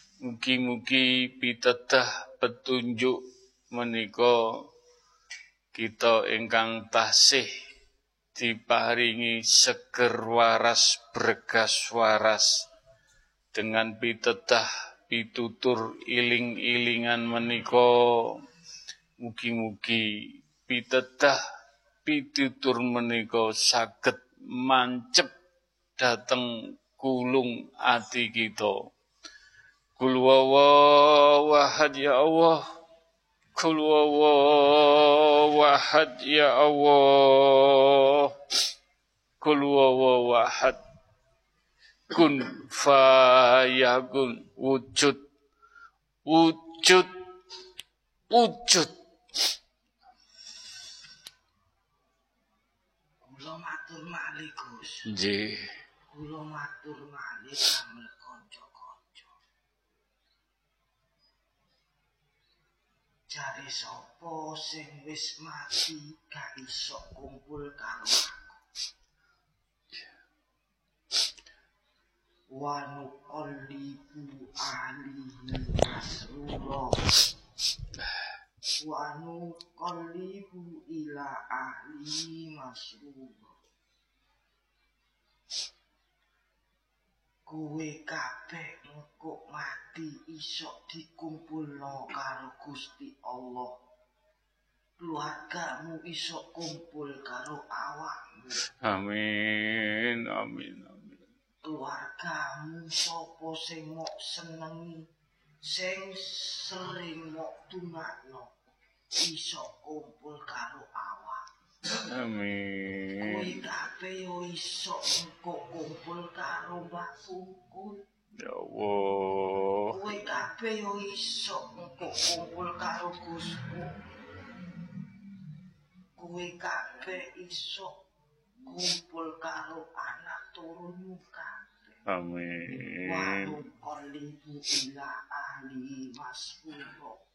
Mugi-mugi pitedah petunjuk menika kita ingkang tasih diparingi seger waras bergas waras dengan pitedah pitutur iling-ilingan menika mugi-mugi pitedah pitutur menika saged mancep dhateng kulung ati kita. Kul wawahad ya Allah, kul wawahad ya Allah, kul wawahad, kun fayakun, wujud, wujud, wujud. Kula matur malih Gus. Nggih. Kula matur malih damel kanca-kanca. Jare sapa sing wis mati gak iso kumpul karo aku. Wa nuqallibu alihi masrura. Wa nuqallibu ila ahli masrura. Kowe kabeh engko mati iso dikumpulno karo Gusti Allah. Keluargamu iso kumpul karo awakmu. Amin, amin, amin. Keluargamu sapa sing mok senengi, sing sering mok tungakno, iso kumpul karo awak. Amin. Kowe kabeh yo iso engko kumpul karo Mbah Pungkul. Ya Allah. Kowe kabeh yo iso engko kumpul karo Gusmu. Kowe kabeh iso kumpul karo anak turunmu kabeh. Amin. Wa nuqallibu ila ahli masrura.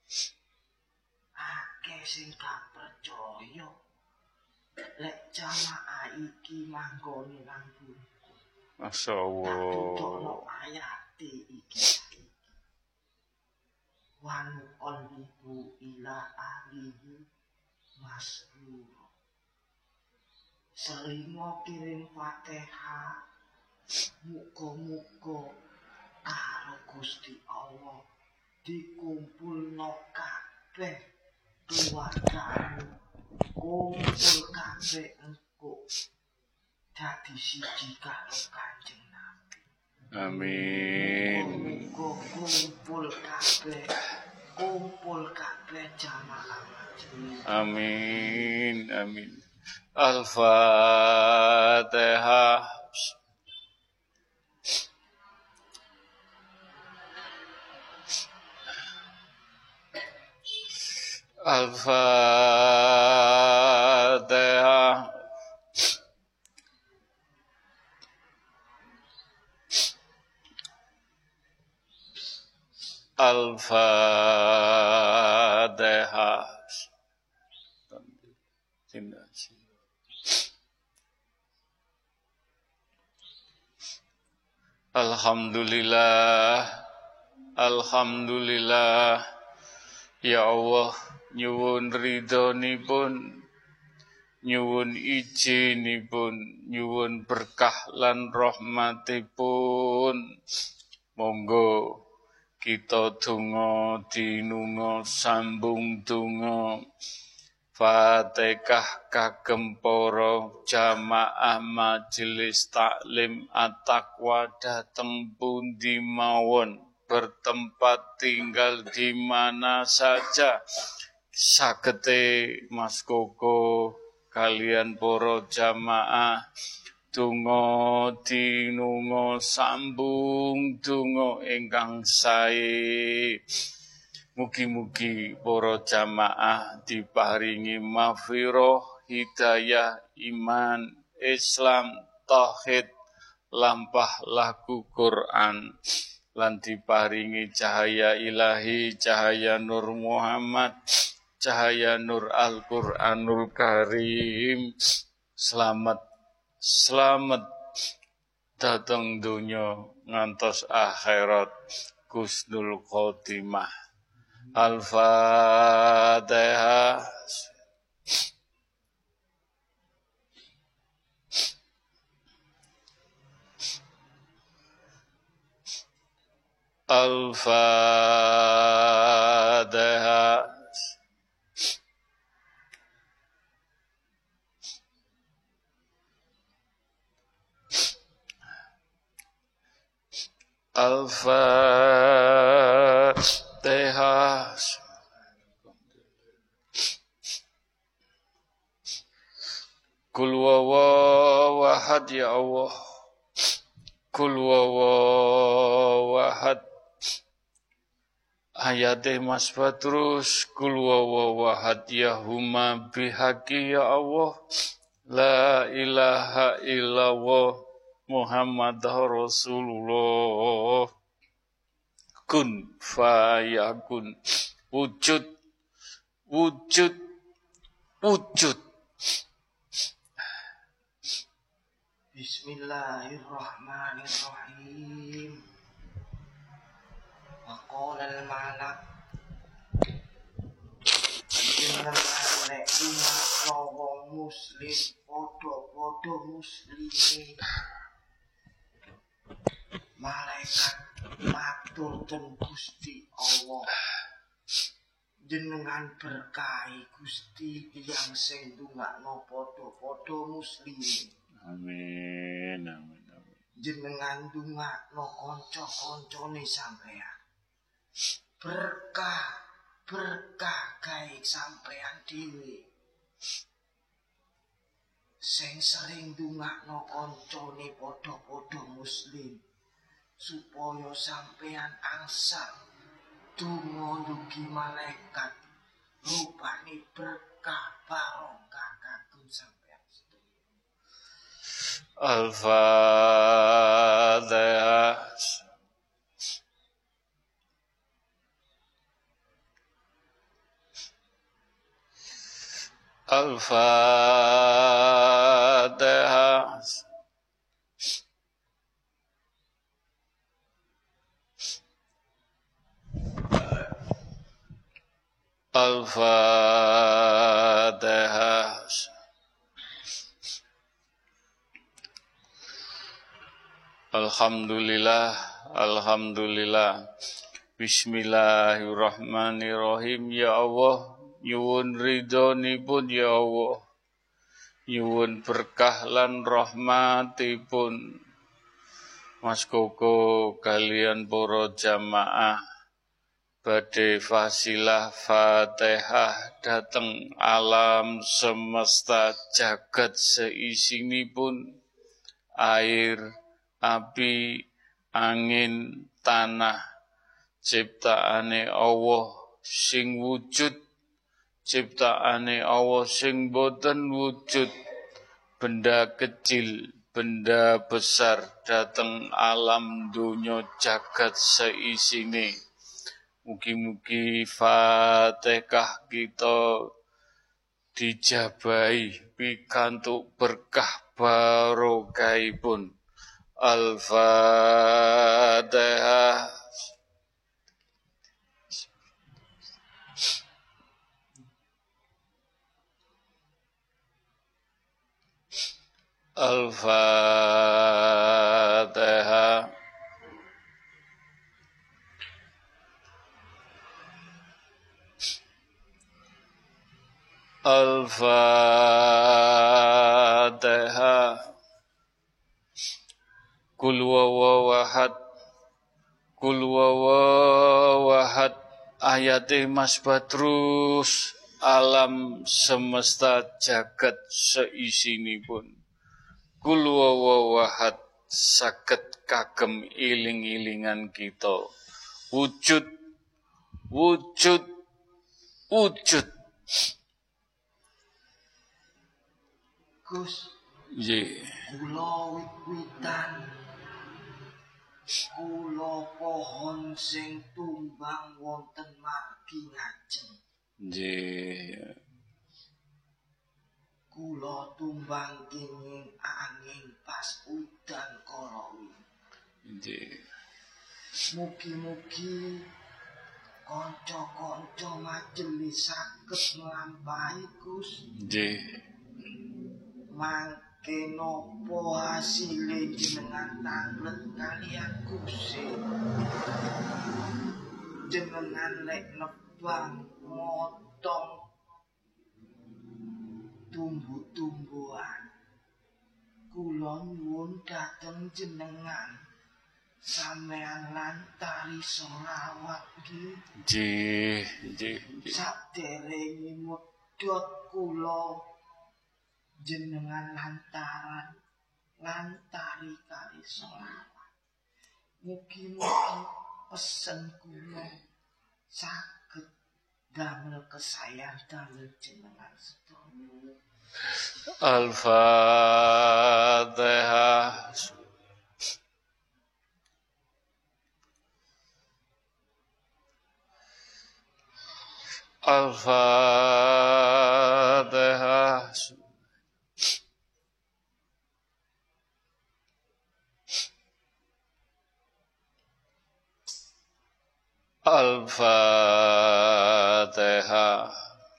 Akeh sing gak percaya lek jamaah iki manggone nang bumi. Masyaallah. Tutokno ayate iki. Wa nuqallibu ila ahlihi masrura. Selingo kirim Fatihah. Muga-muga karo Gusti Allah dikumpulno kabeh keluargamu. Kumpul kabeh engko dadi siji karo Kanjeng Nabi. Amin. Muga kumpul kabeh jamaah majelis. Amin, amin. Al-Fatihah. Al-Fatihah. Al-Fatihah. Alhamdulillah, alhamdulillah. Ya Allah, nyuwun ridhonipun, nyuwun ijinipun, nyuwun berkah lan rahmatipun. Monggo kita donga dinunga sambung donga Fatihah kagem para jamaah majelis taklim at-taqwa dateng pundi mawon, bertempat tinggal di mana saja. Sagete Mas Koko kalian para jamaah donga dinunga sambung donga ingkang sae. Mugi-mugi para jamaah diparingi maghfirah, hidayah, iman, Islam, tauhid, lampah laku Quran, lan diparingi cahaya ilahi, cahaya Nur Muhammad, cahaya Nur Al-Quranul Karim. Selamat, selamat datang dunya ngantos akhirat Husnul Khotimah. Al-Fatihah. Al-Fatihah. Al-Fatihah. Kul huwallahu ahad ya Allah. Kul huwallahu ahad. Ayatih Mas Badrus. Kul huwallahu ahad ya huma bihaqi ya Allah. La ilaha illallah Muhammad Rasulullah. Kun fayakun. Wujud. Wujud. Wujud. Bismillahirrahmanirrahim. Waqala al-malak jenengan nek wong muslim padha-padha muslimi. Malaikat matur ten Gusti Allah. Jenengan berkahi Gusti tiyang sing ndongakno padha-padha muslimi. Amin, amin, amin. Jenengan ndongakno kanca-kancane sampeyan. Berkah gawe sampeyan dhewe. Sing sering ndongakno kancane padha-padha muslim supaya sampeyan angsal donga ndugi malaikat rupane berkah barokah kagem sampeyan. Al-Fatihah. Al-Fatihah. Al-Fatihah. Alhamdulillah, alhamdulillah. Bismillahirrahmanirrahim. Ya Allah, nyuwun ridhonipun ya Allah. Nyuwun berkah lan rahmatipun. Mas Koko kalian para jamaah badhe fasilah Fatihah dateng alam semesta jagat seisinipun, air, api, angin, tanah, ciptaane Allah sing wujud, ciptaane Allah sing boten wujud, benda kecil, benda besar dateng alam dunya jagat seisine. Mugi-mugi Fatihah kita dijabahi pikantuk berkah barokahipun. Al-Fatihah. Al-Fatihah. Al-Fatihah. Kul huwallahu ahad. Kul huwallahu ahad. Ayate Mas Badrus, alam semesta jagat seisinipun. Kul huwallahu ahad saged kagem iling-ilingan kita. Wujud, wujud, wujud. Gus, kula wit-witan, kula pohon sing tumbang wonten margi ngajeng. Nggih. Kula tumbang kenging angin pas udan kala Nggih. Mugi-mugi kanca-kanca majelis saged nglampahi Gus. Nggih. Kenopo hasilé jenengan tanglet kalian Gusti. Jenengan lek nebang motong tumbuh-tumbuhan. Kula nyuwun dhateng jenengan sampeyan lantari selawat nggih. Nggih. Saderenge medhot kula jenengan lantari kali selawat. Mugi-mugi pesen kula saged damel kesayan damel jenengan sedaya. Al-Fatihah. Al-Fatihah. Al-Fatihah.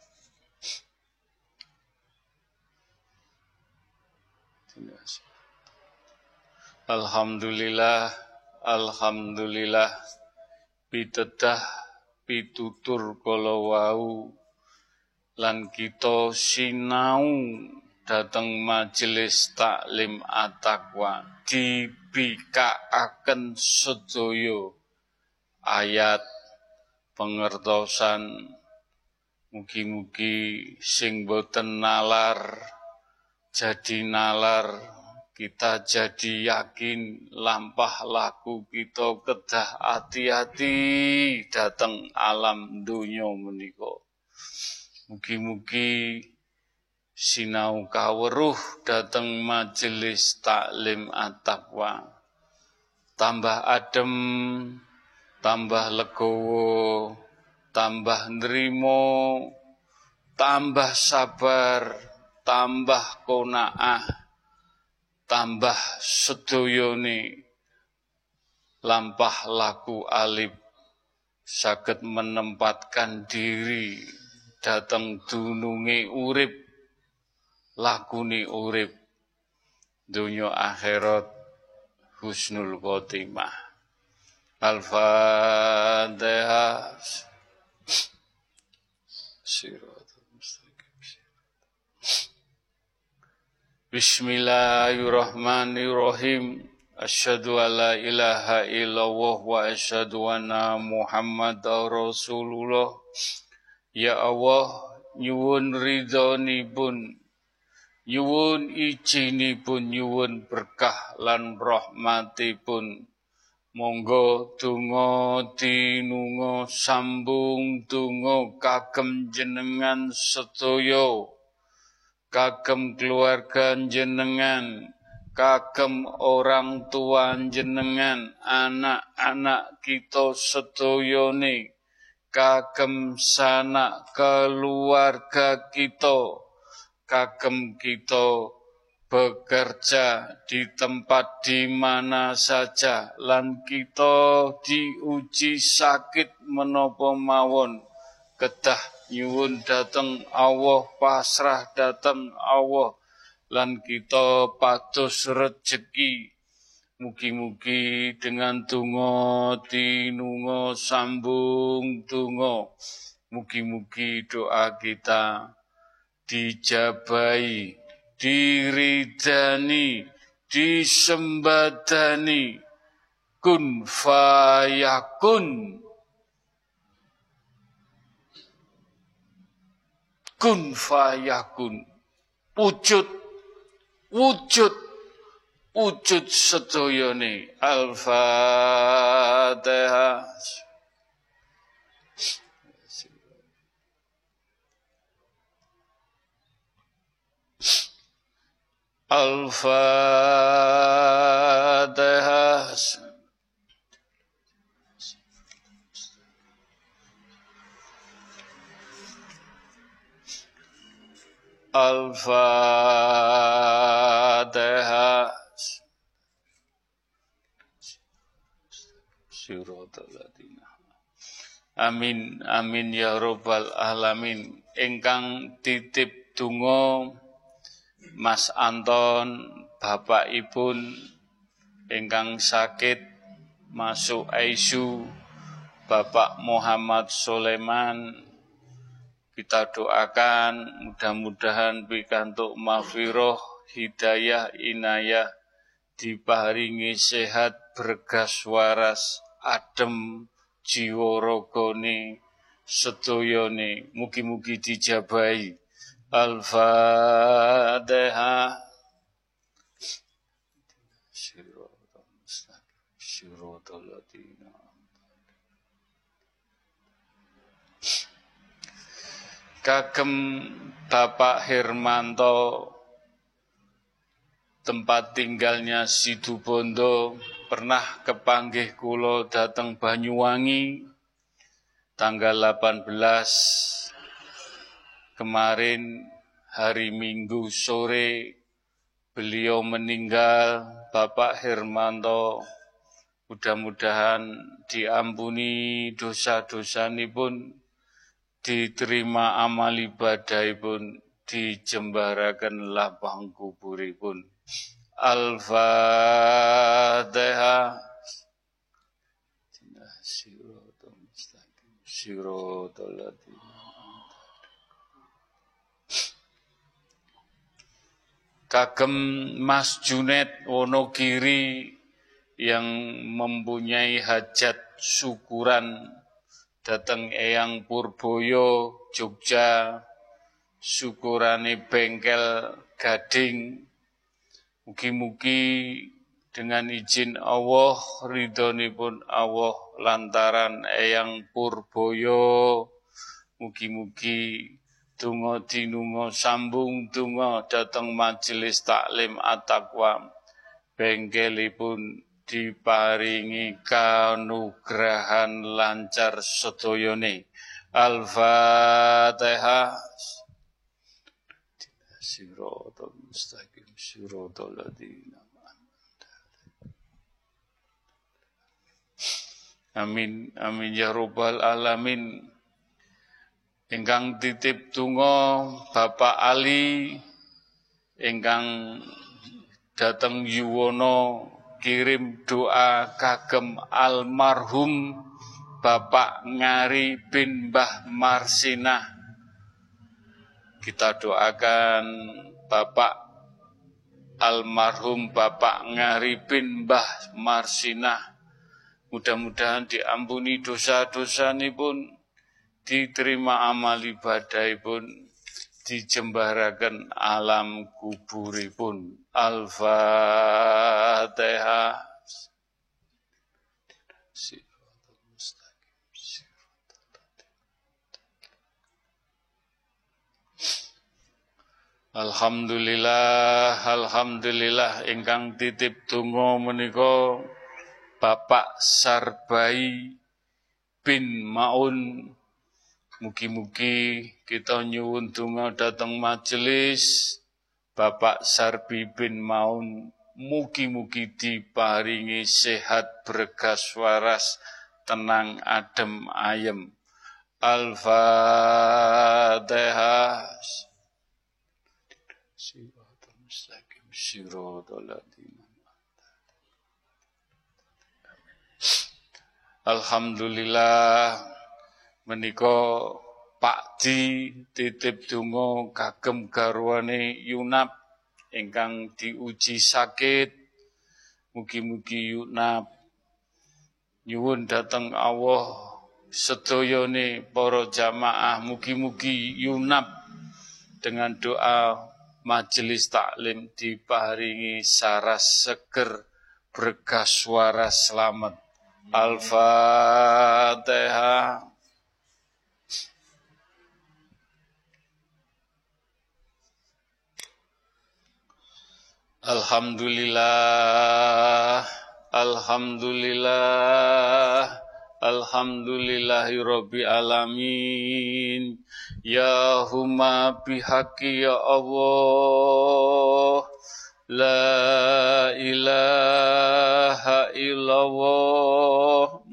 Alhamdulillah, alhamdulillah, pitedah pitutur kala wau lan kita sinau dhateng majelis taklim at-taqwa dibikakaken sedaya ayat pengertosan. Mugi-mugi sing boten nalar jadi nalar, kita jadi yakin lampah laku kita kedah hati-hati dateng alam dunya menika. Mugi-mugi sinau kaweruh dateng majelis taklim at-taqwa tambah adem, tambah legowo, tambah nrimo, tambah sabar, tambah qanaah, tambah sedayane lampah laku alif saged menempatkan diri dhateng dununge urip, lakune urip donya akhirat husnul khotimah. Al-Fatihah. Bismillahirrahmanirrahim. Asyhadu alla ilaha illallah wa asyhadu anna Muhammadar Rasulullah. Ya Allah, nyuwun ridhonipun, nyuwun ijinipun, nyuwun berkah lan rahmatipun. Monggo donga tinunga sambung donga kagem jenengan sedaya, kagem keluarga jenengan, kagem orang tua jenengan, anak-anak kita sedayane, kagem sanak keluarga kita, kagem kita bekerja di tempat di mana saja, lan kita diuji sakit menapa mawon, kedah nyuwun dhateng Allah, pasrah dhateng Allah, lan kita pados rejeki. Mugi-mugi dengan donga tinunga sambung donga, mugi-mugi doa kita dijabahi, diridani, disembadani, kun fayakun, kun fayakun, wujud sedayane. Al-Fatihah. Al-Fatihah. Al-Fatihah. Amin, amin ya rabbal alamin. Ingkang titip donga Mas Anton, bapakipun ingkang sakit masuk ICU, Bapak Muhammad Sulaiman, kita doakan mudah-mudahan pikantuk maghfirah, hidayah, inayah, diparingi sehat, bergas waras, adem, jiwa ragane, sedayane, mugi-mugi dijabahi. Al-Fatihah. Kagem Bapak Hermanto, tempat tinggalnya Situbondo, pernah kepanggih kula dateng Banyuwangi tanggal 18 kemarin hari Minggu sore. Beliau meninggal, Bapak Hermanto. Mudah-mudahan diampuni dosa-dosanipun, diterima amal ibadahipun, dijembaraken lapang kuburipun. Al-Fatihah. Kagem Mas Junet Wonogiri yang mempunyai hajat syukuran dateng Eyang Purboyo, Jogja, syukurane bengkel Gading. Mugi-mugi dengan izin Allah, ridhonipun Allah lantaran Eyang Purboyo, mugi-mugi donga dinunga sambung donga dateng majelis taklim At-Taqwa, bengkelipun diparingi kanugrahan lancar sedayane. Al-Fatihah. Siratal mustaqim, siratal ladzina. Amin amin ya rabbal alamin. Ingkang titip donga Bapak Ali ingkang dateng Yuwono, kirim doa kagem almarhum Bapak Ngari bin Mbah Marsinah. Kita doakan Bapak almarhum Bapak Ngari bin Mbah Marsinah, mudah-mudahan diampuni dosa-dosanipun, diterima amal ibadahipun, dijembaraken alam kuburipun. Al-Fatihah. Alhamdulillah, alhamdulillah ingkang titip donga menika Bapak Sarbai bin Maun. Mugi-mugi kita nyuwun donga dhateng majelis Bapak Sarbi bin Maun, mugi-mugi diparingi sehat, bergas waras, tenang, adem, ayem. Al-Fatihah. Siratal mustaqim, siratal ladzina. Alhamdulillah menika Pak Di titip donga kagem garwane Yunap ingkang diuji sakit. Mugi-mugi Yunap nyuwun dhateng Allah sedayane para jamaah, mugi-mugi Yunap dengan doa majelis taklim diparingi saras seger, berkas waras selamat. Al-Fatihah. Alhamdulillah, alhamdulillah, alhamdulillahirabbil alamin. Ya huma bihaqi ya Allah, la ilaha illallah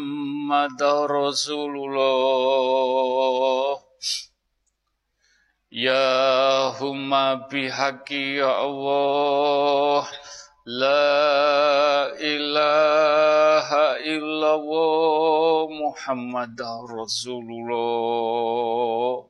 Muhammadur Rasulullah. Ya humma bihaqi ya Allah, la ilaha illallah Muhammad Rasulullah.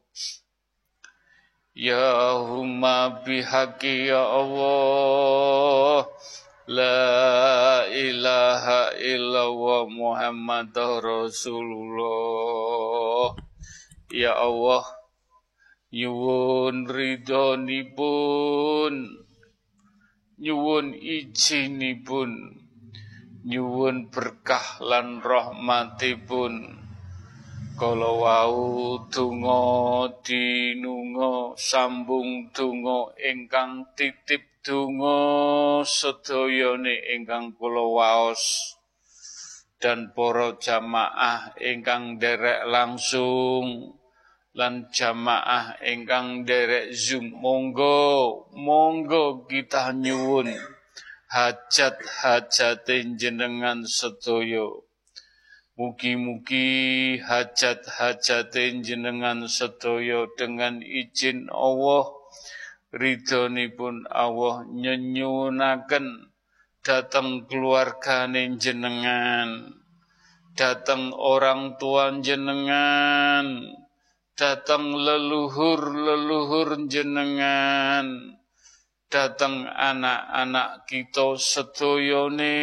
Ya humma bihaqi ya Allah, la ilaha illallah Muhammad Rasulullah. Ya Allah, nyuwun ridhonipun, nyuwun izinipun, nyuwun berkah lan rahmatipun. Kala wau donga dinunga sambung donga ingkang titip donga sedayane ingkang kula waos dan para jamaah ingkang derek langsung lan jamaah ingkang derek Zoom, monggo kita nyuwun hajat-hajate jenengan sedaya. Mugi-mugi hajat-hajate jenengan sedaya dengan izin Allah, ridhonipun Allah nyenyuwunaken dhateng keluargane jenengan, dhateng orang tua jenengan, datang leluhur-leluhur jenengan, datang anak-anak kita sedayane,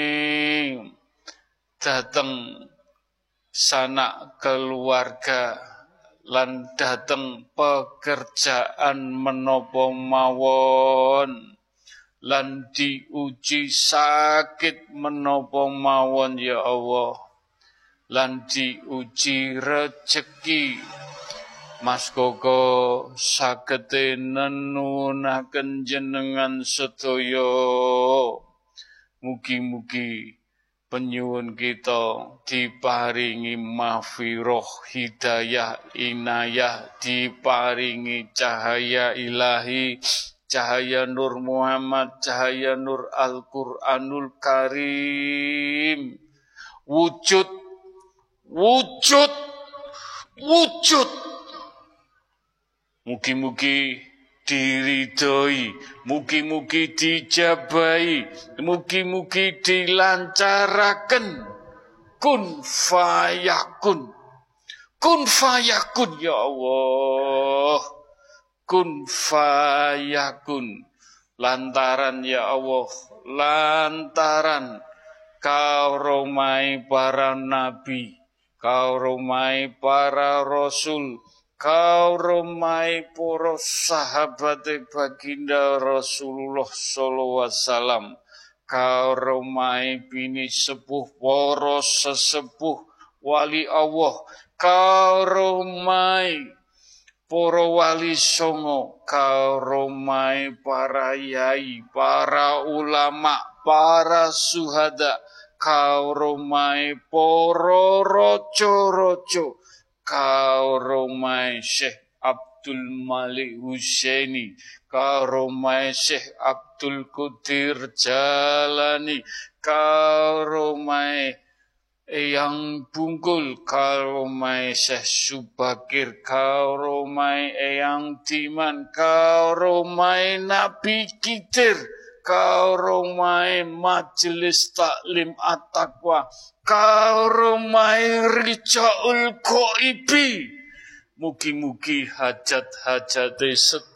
datang sanak keluarga, lan datang pekerjaan menapa mawon, lan diuji sakit menapa mawon ya Allah, lan diuji rezeki. Mas Koko sagete nenunaken jenengan sedaya. Mugi-mugi penyuwun kita diparingi mahfirah, hidayah, inayah, diparingi cahaya ilahi, cahaya Nur Muhammad, cahaya Nur Al-Qur'anul Karim. Wujud. Mugi-mugi diridhoi, mugi-mugi dijabahi, mugi-mugi dilancaraken. Kun fayakun. Kun fayakun ya Allah. Kun fayakun. Lantaran ya Allah, lantaran karomai para nabi, karomai para rasul, karomai para sahabat baginda Rasulullah sallallahu alaihi wasallam, karomai bini sepuh para sesepuh wali Allah, karomai para wali songo, karomai para yai, para ulama, para suhada, karomai para rojo-rojo, karomai Syekh Abdul Malik Husaini, karomai Syekh Abdul Qadir Jalani, karomai Eyang Bungkul, karomai Syekh Subakir, karomai Eyang Diman, karomai Nabi Khidir, karomai Majelis Taklim At-Taqwa, karomai Rijaul Ghaibi. Mugi-mugi hajat-hajate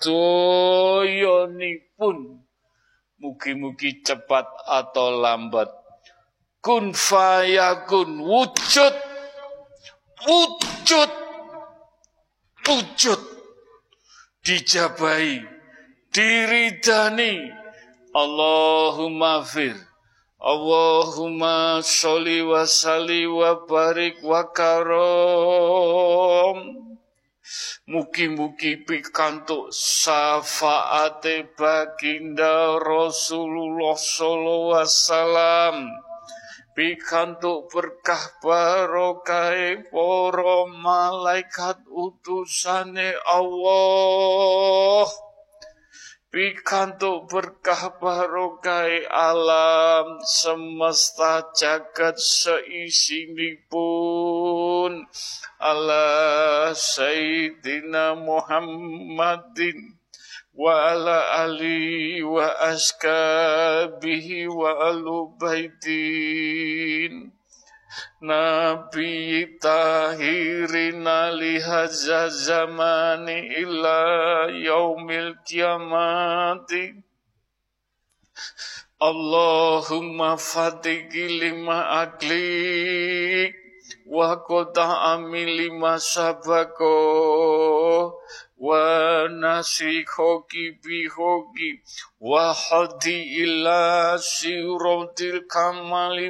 sedoyonipun, mugi-mugi cepat atau lambat, kun fayakun, wujud, dijabahi, diridani. Allahumma fir, Allahumma sholli wa salli wa barik wa karom. Mugi-mugi pikantuk syafaate baginda Rasulullah sallallahu alaihi wasallam, pikantuk berkah barokah para malaikat utusane Allah, pikantuk berkah barokai alam semesta jagat seisinipun ala Sayyidina Muhammadin wa ala ali wa askabihi wa alubaitin Nabi tahirin lihaza zamani ila yaumil kiamati Allahumma fatigi lima aklik wa qota'ami lima sabako wa nasikhoki bihoki wa hadi ila siratil kamali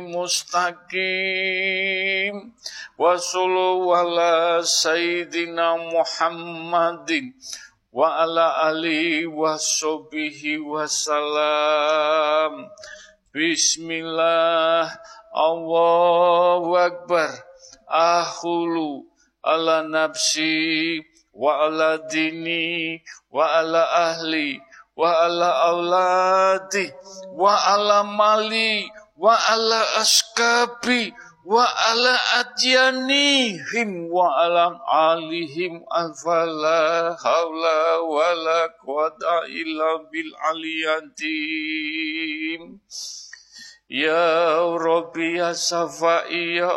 mustaqim wa sallu ala sayyidina Muhammadin wa ala alihi wa sahbihi wa salam. Bismillah, Allahu Akbar, ahulu ala nafsi wa ala dini wa ala ahli wa ala auladi wa ala mali wa ala askabi wa ala adyanihim wa ala alihim afala hawla wa la quwata illa bil aliyatim. Ya Rabbi ya Safai ya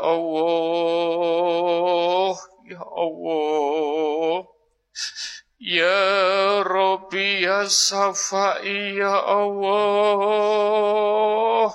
Allah, ya Allah. Ya Rabbi ya Safai ya Allah.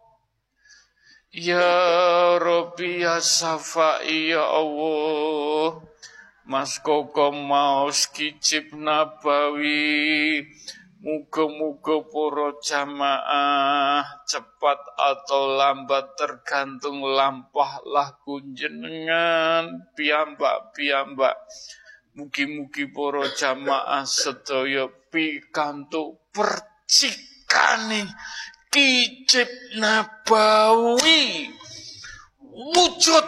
Ya Rabbi ya Safai ya Allah. Mas Koko maos kicip nabawi. Muga-muga para jamaah cepat atau lambat tergantung lampahlah kunjenengan piyambak-piyambak. Mugi-mugi para jamaah sedaya pikantuk percikane kicip nabawi wujud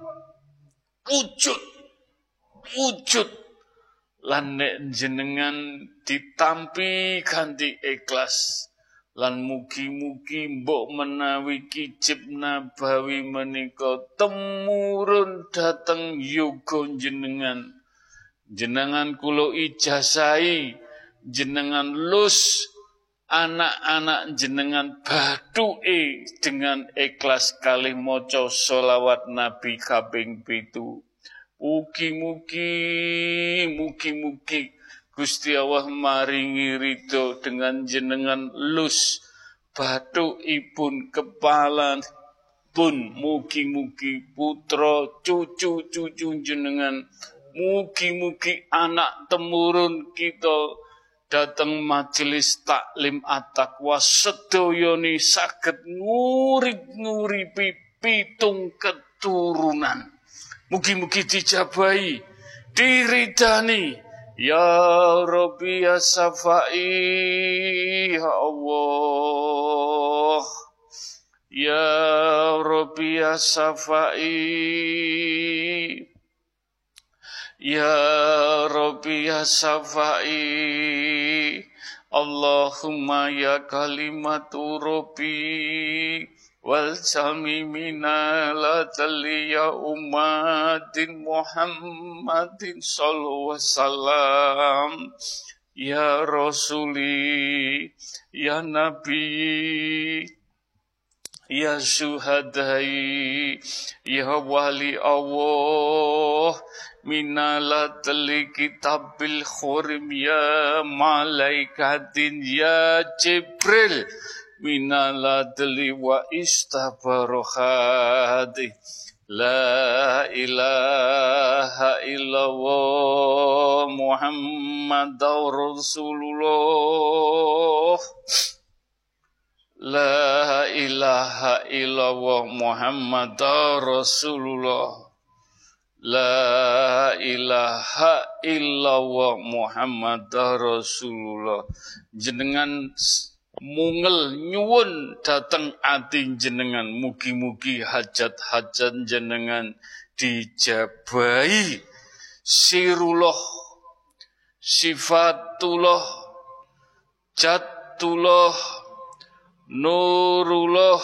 lan nek jenengan ditampi kanthi ikhlas lan mugi-mugi mbok menawi kicip nabawi menika temurun dhateng yoga jenengan kula ijazahi jenengan lus anak-anak jenengan bathuke dengan ikhlas kalih maca sholawat Nabi kaping 7. Mugi-mugi Gusti Allah maringi ridho dengan jenengan lus bathukipun kepala pun mugi-mugi putra cucu jenengan mugi-mugi anak temurun kita datang majelis taklim at-taqwa sedayane saged nguripi pitung keturunan. Mugi-mugi dijabahi, diridani. Ya Rabbi ya Safai ya Allah. Ya Rabbi ya Safai. Ya Rabbi ya Safai. Allahumma ya kalimatu Rabbi. Wal jamimina la taliya ummatin Muhammadin sallallahu wasallam. Ya Rasuli, ya Nabi, ya Syuhadai, ya Wali Allah, minalatli kitabil khurim, ya malaikatin, ya Jibril, minaladli wa istabarohati. La ilaha illallah Muhammadur Rasulullah. La ilaha illallah Muhammadur Rasulullah. La ilaha illallah Muhammadur Rasulullah. Jenengan mungel nyuwun dateng ati jenengan, mugi-mugi hajat-hajat jenengan dijabahi. Sirullah, sifatullah, Jatullah, Nurullah,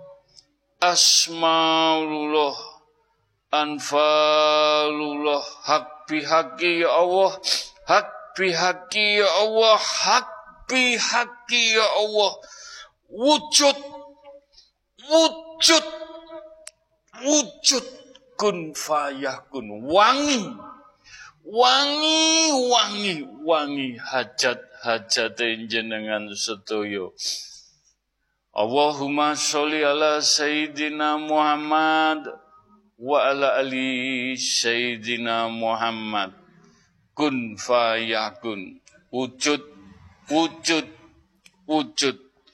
Asmaulullah, Anfalullah, hak bihaki ya Allah, hak bihaki ya Allah, hak bihaki ya Allah, wujud, wujud, wujud, kun fayakun, wangi, wangi, wangi, wangi, hajat jenengan sedoyo. Allahumma sholli ala Sayyidina Muhammad wa ala ali Sayyidina Muhammad. Kun fayakun, wujud, wujud, wujud.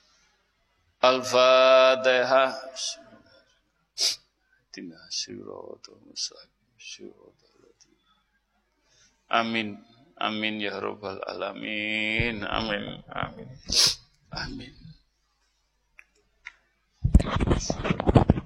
Al-Fatihah. Amin, amin ya rabbal alamin, amin, amin, amin.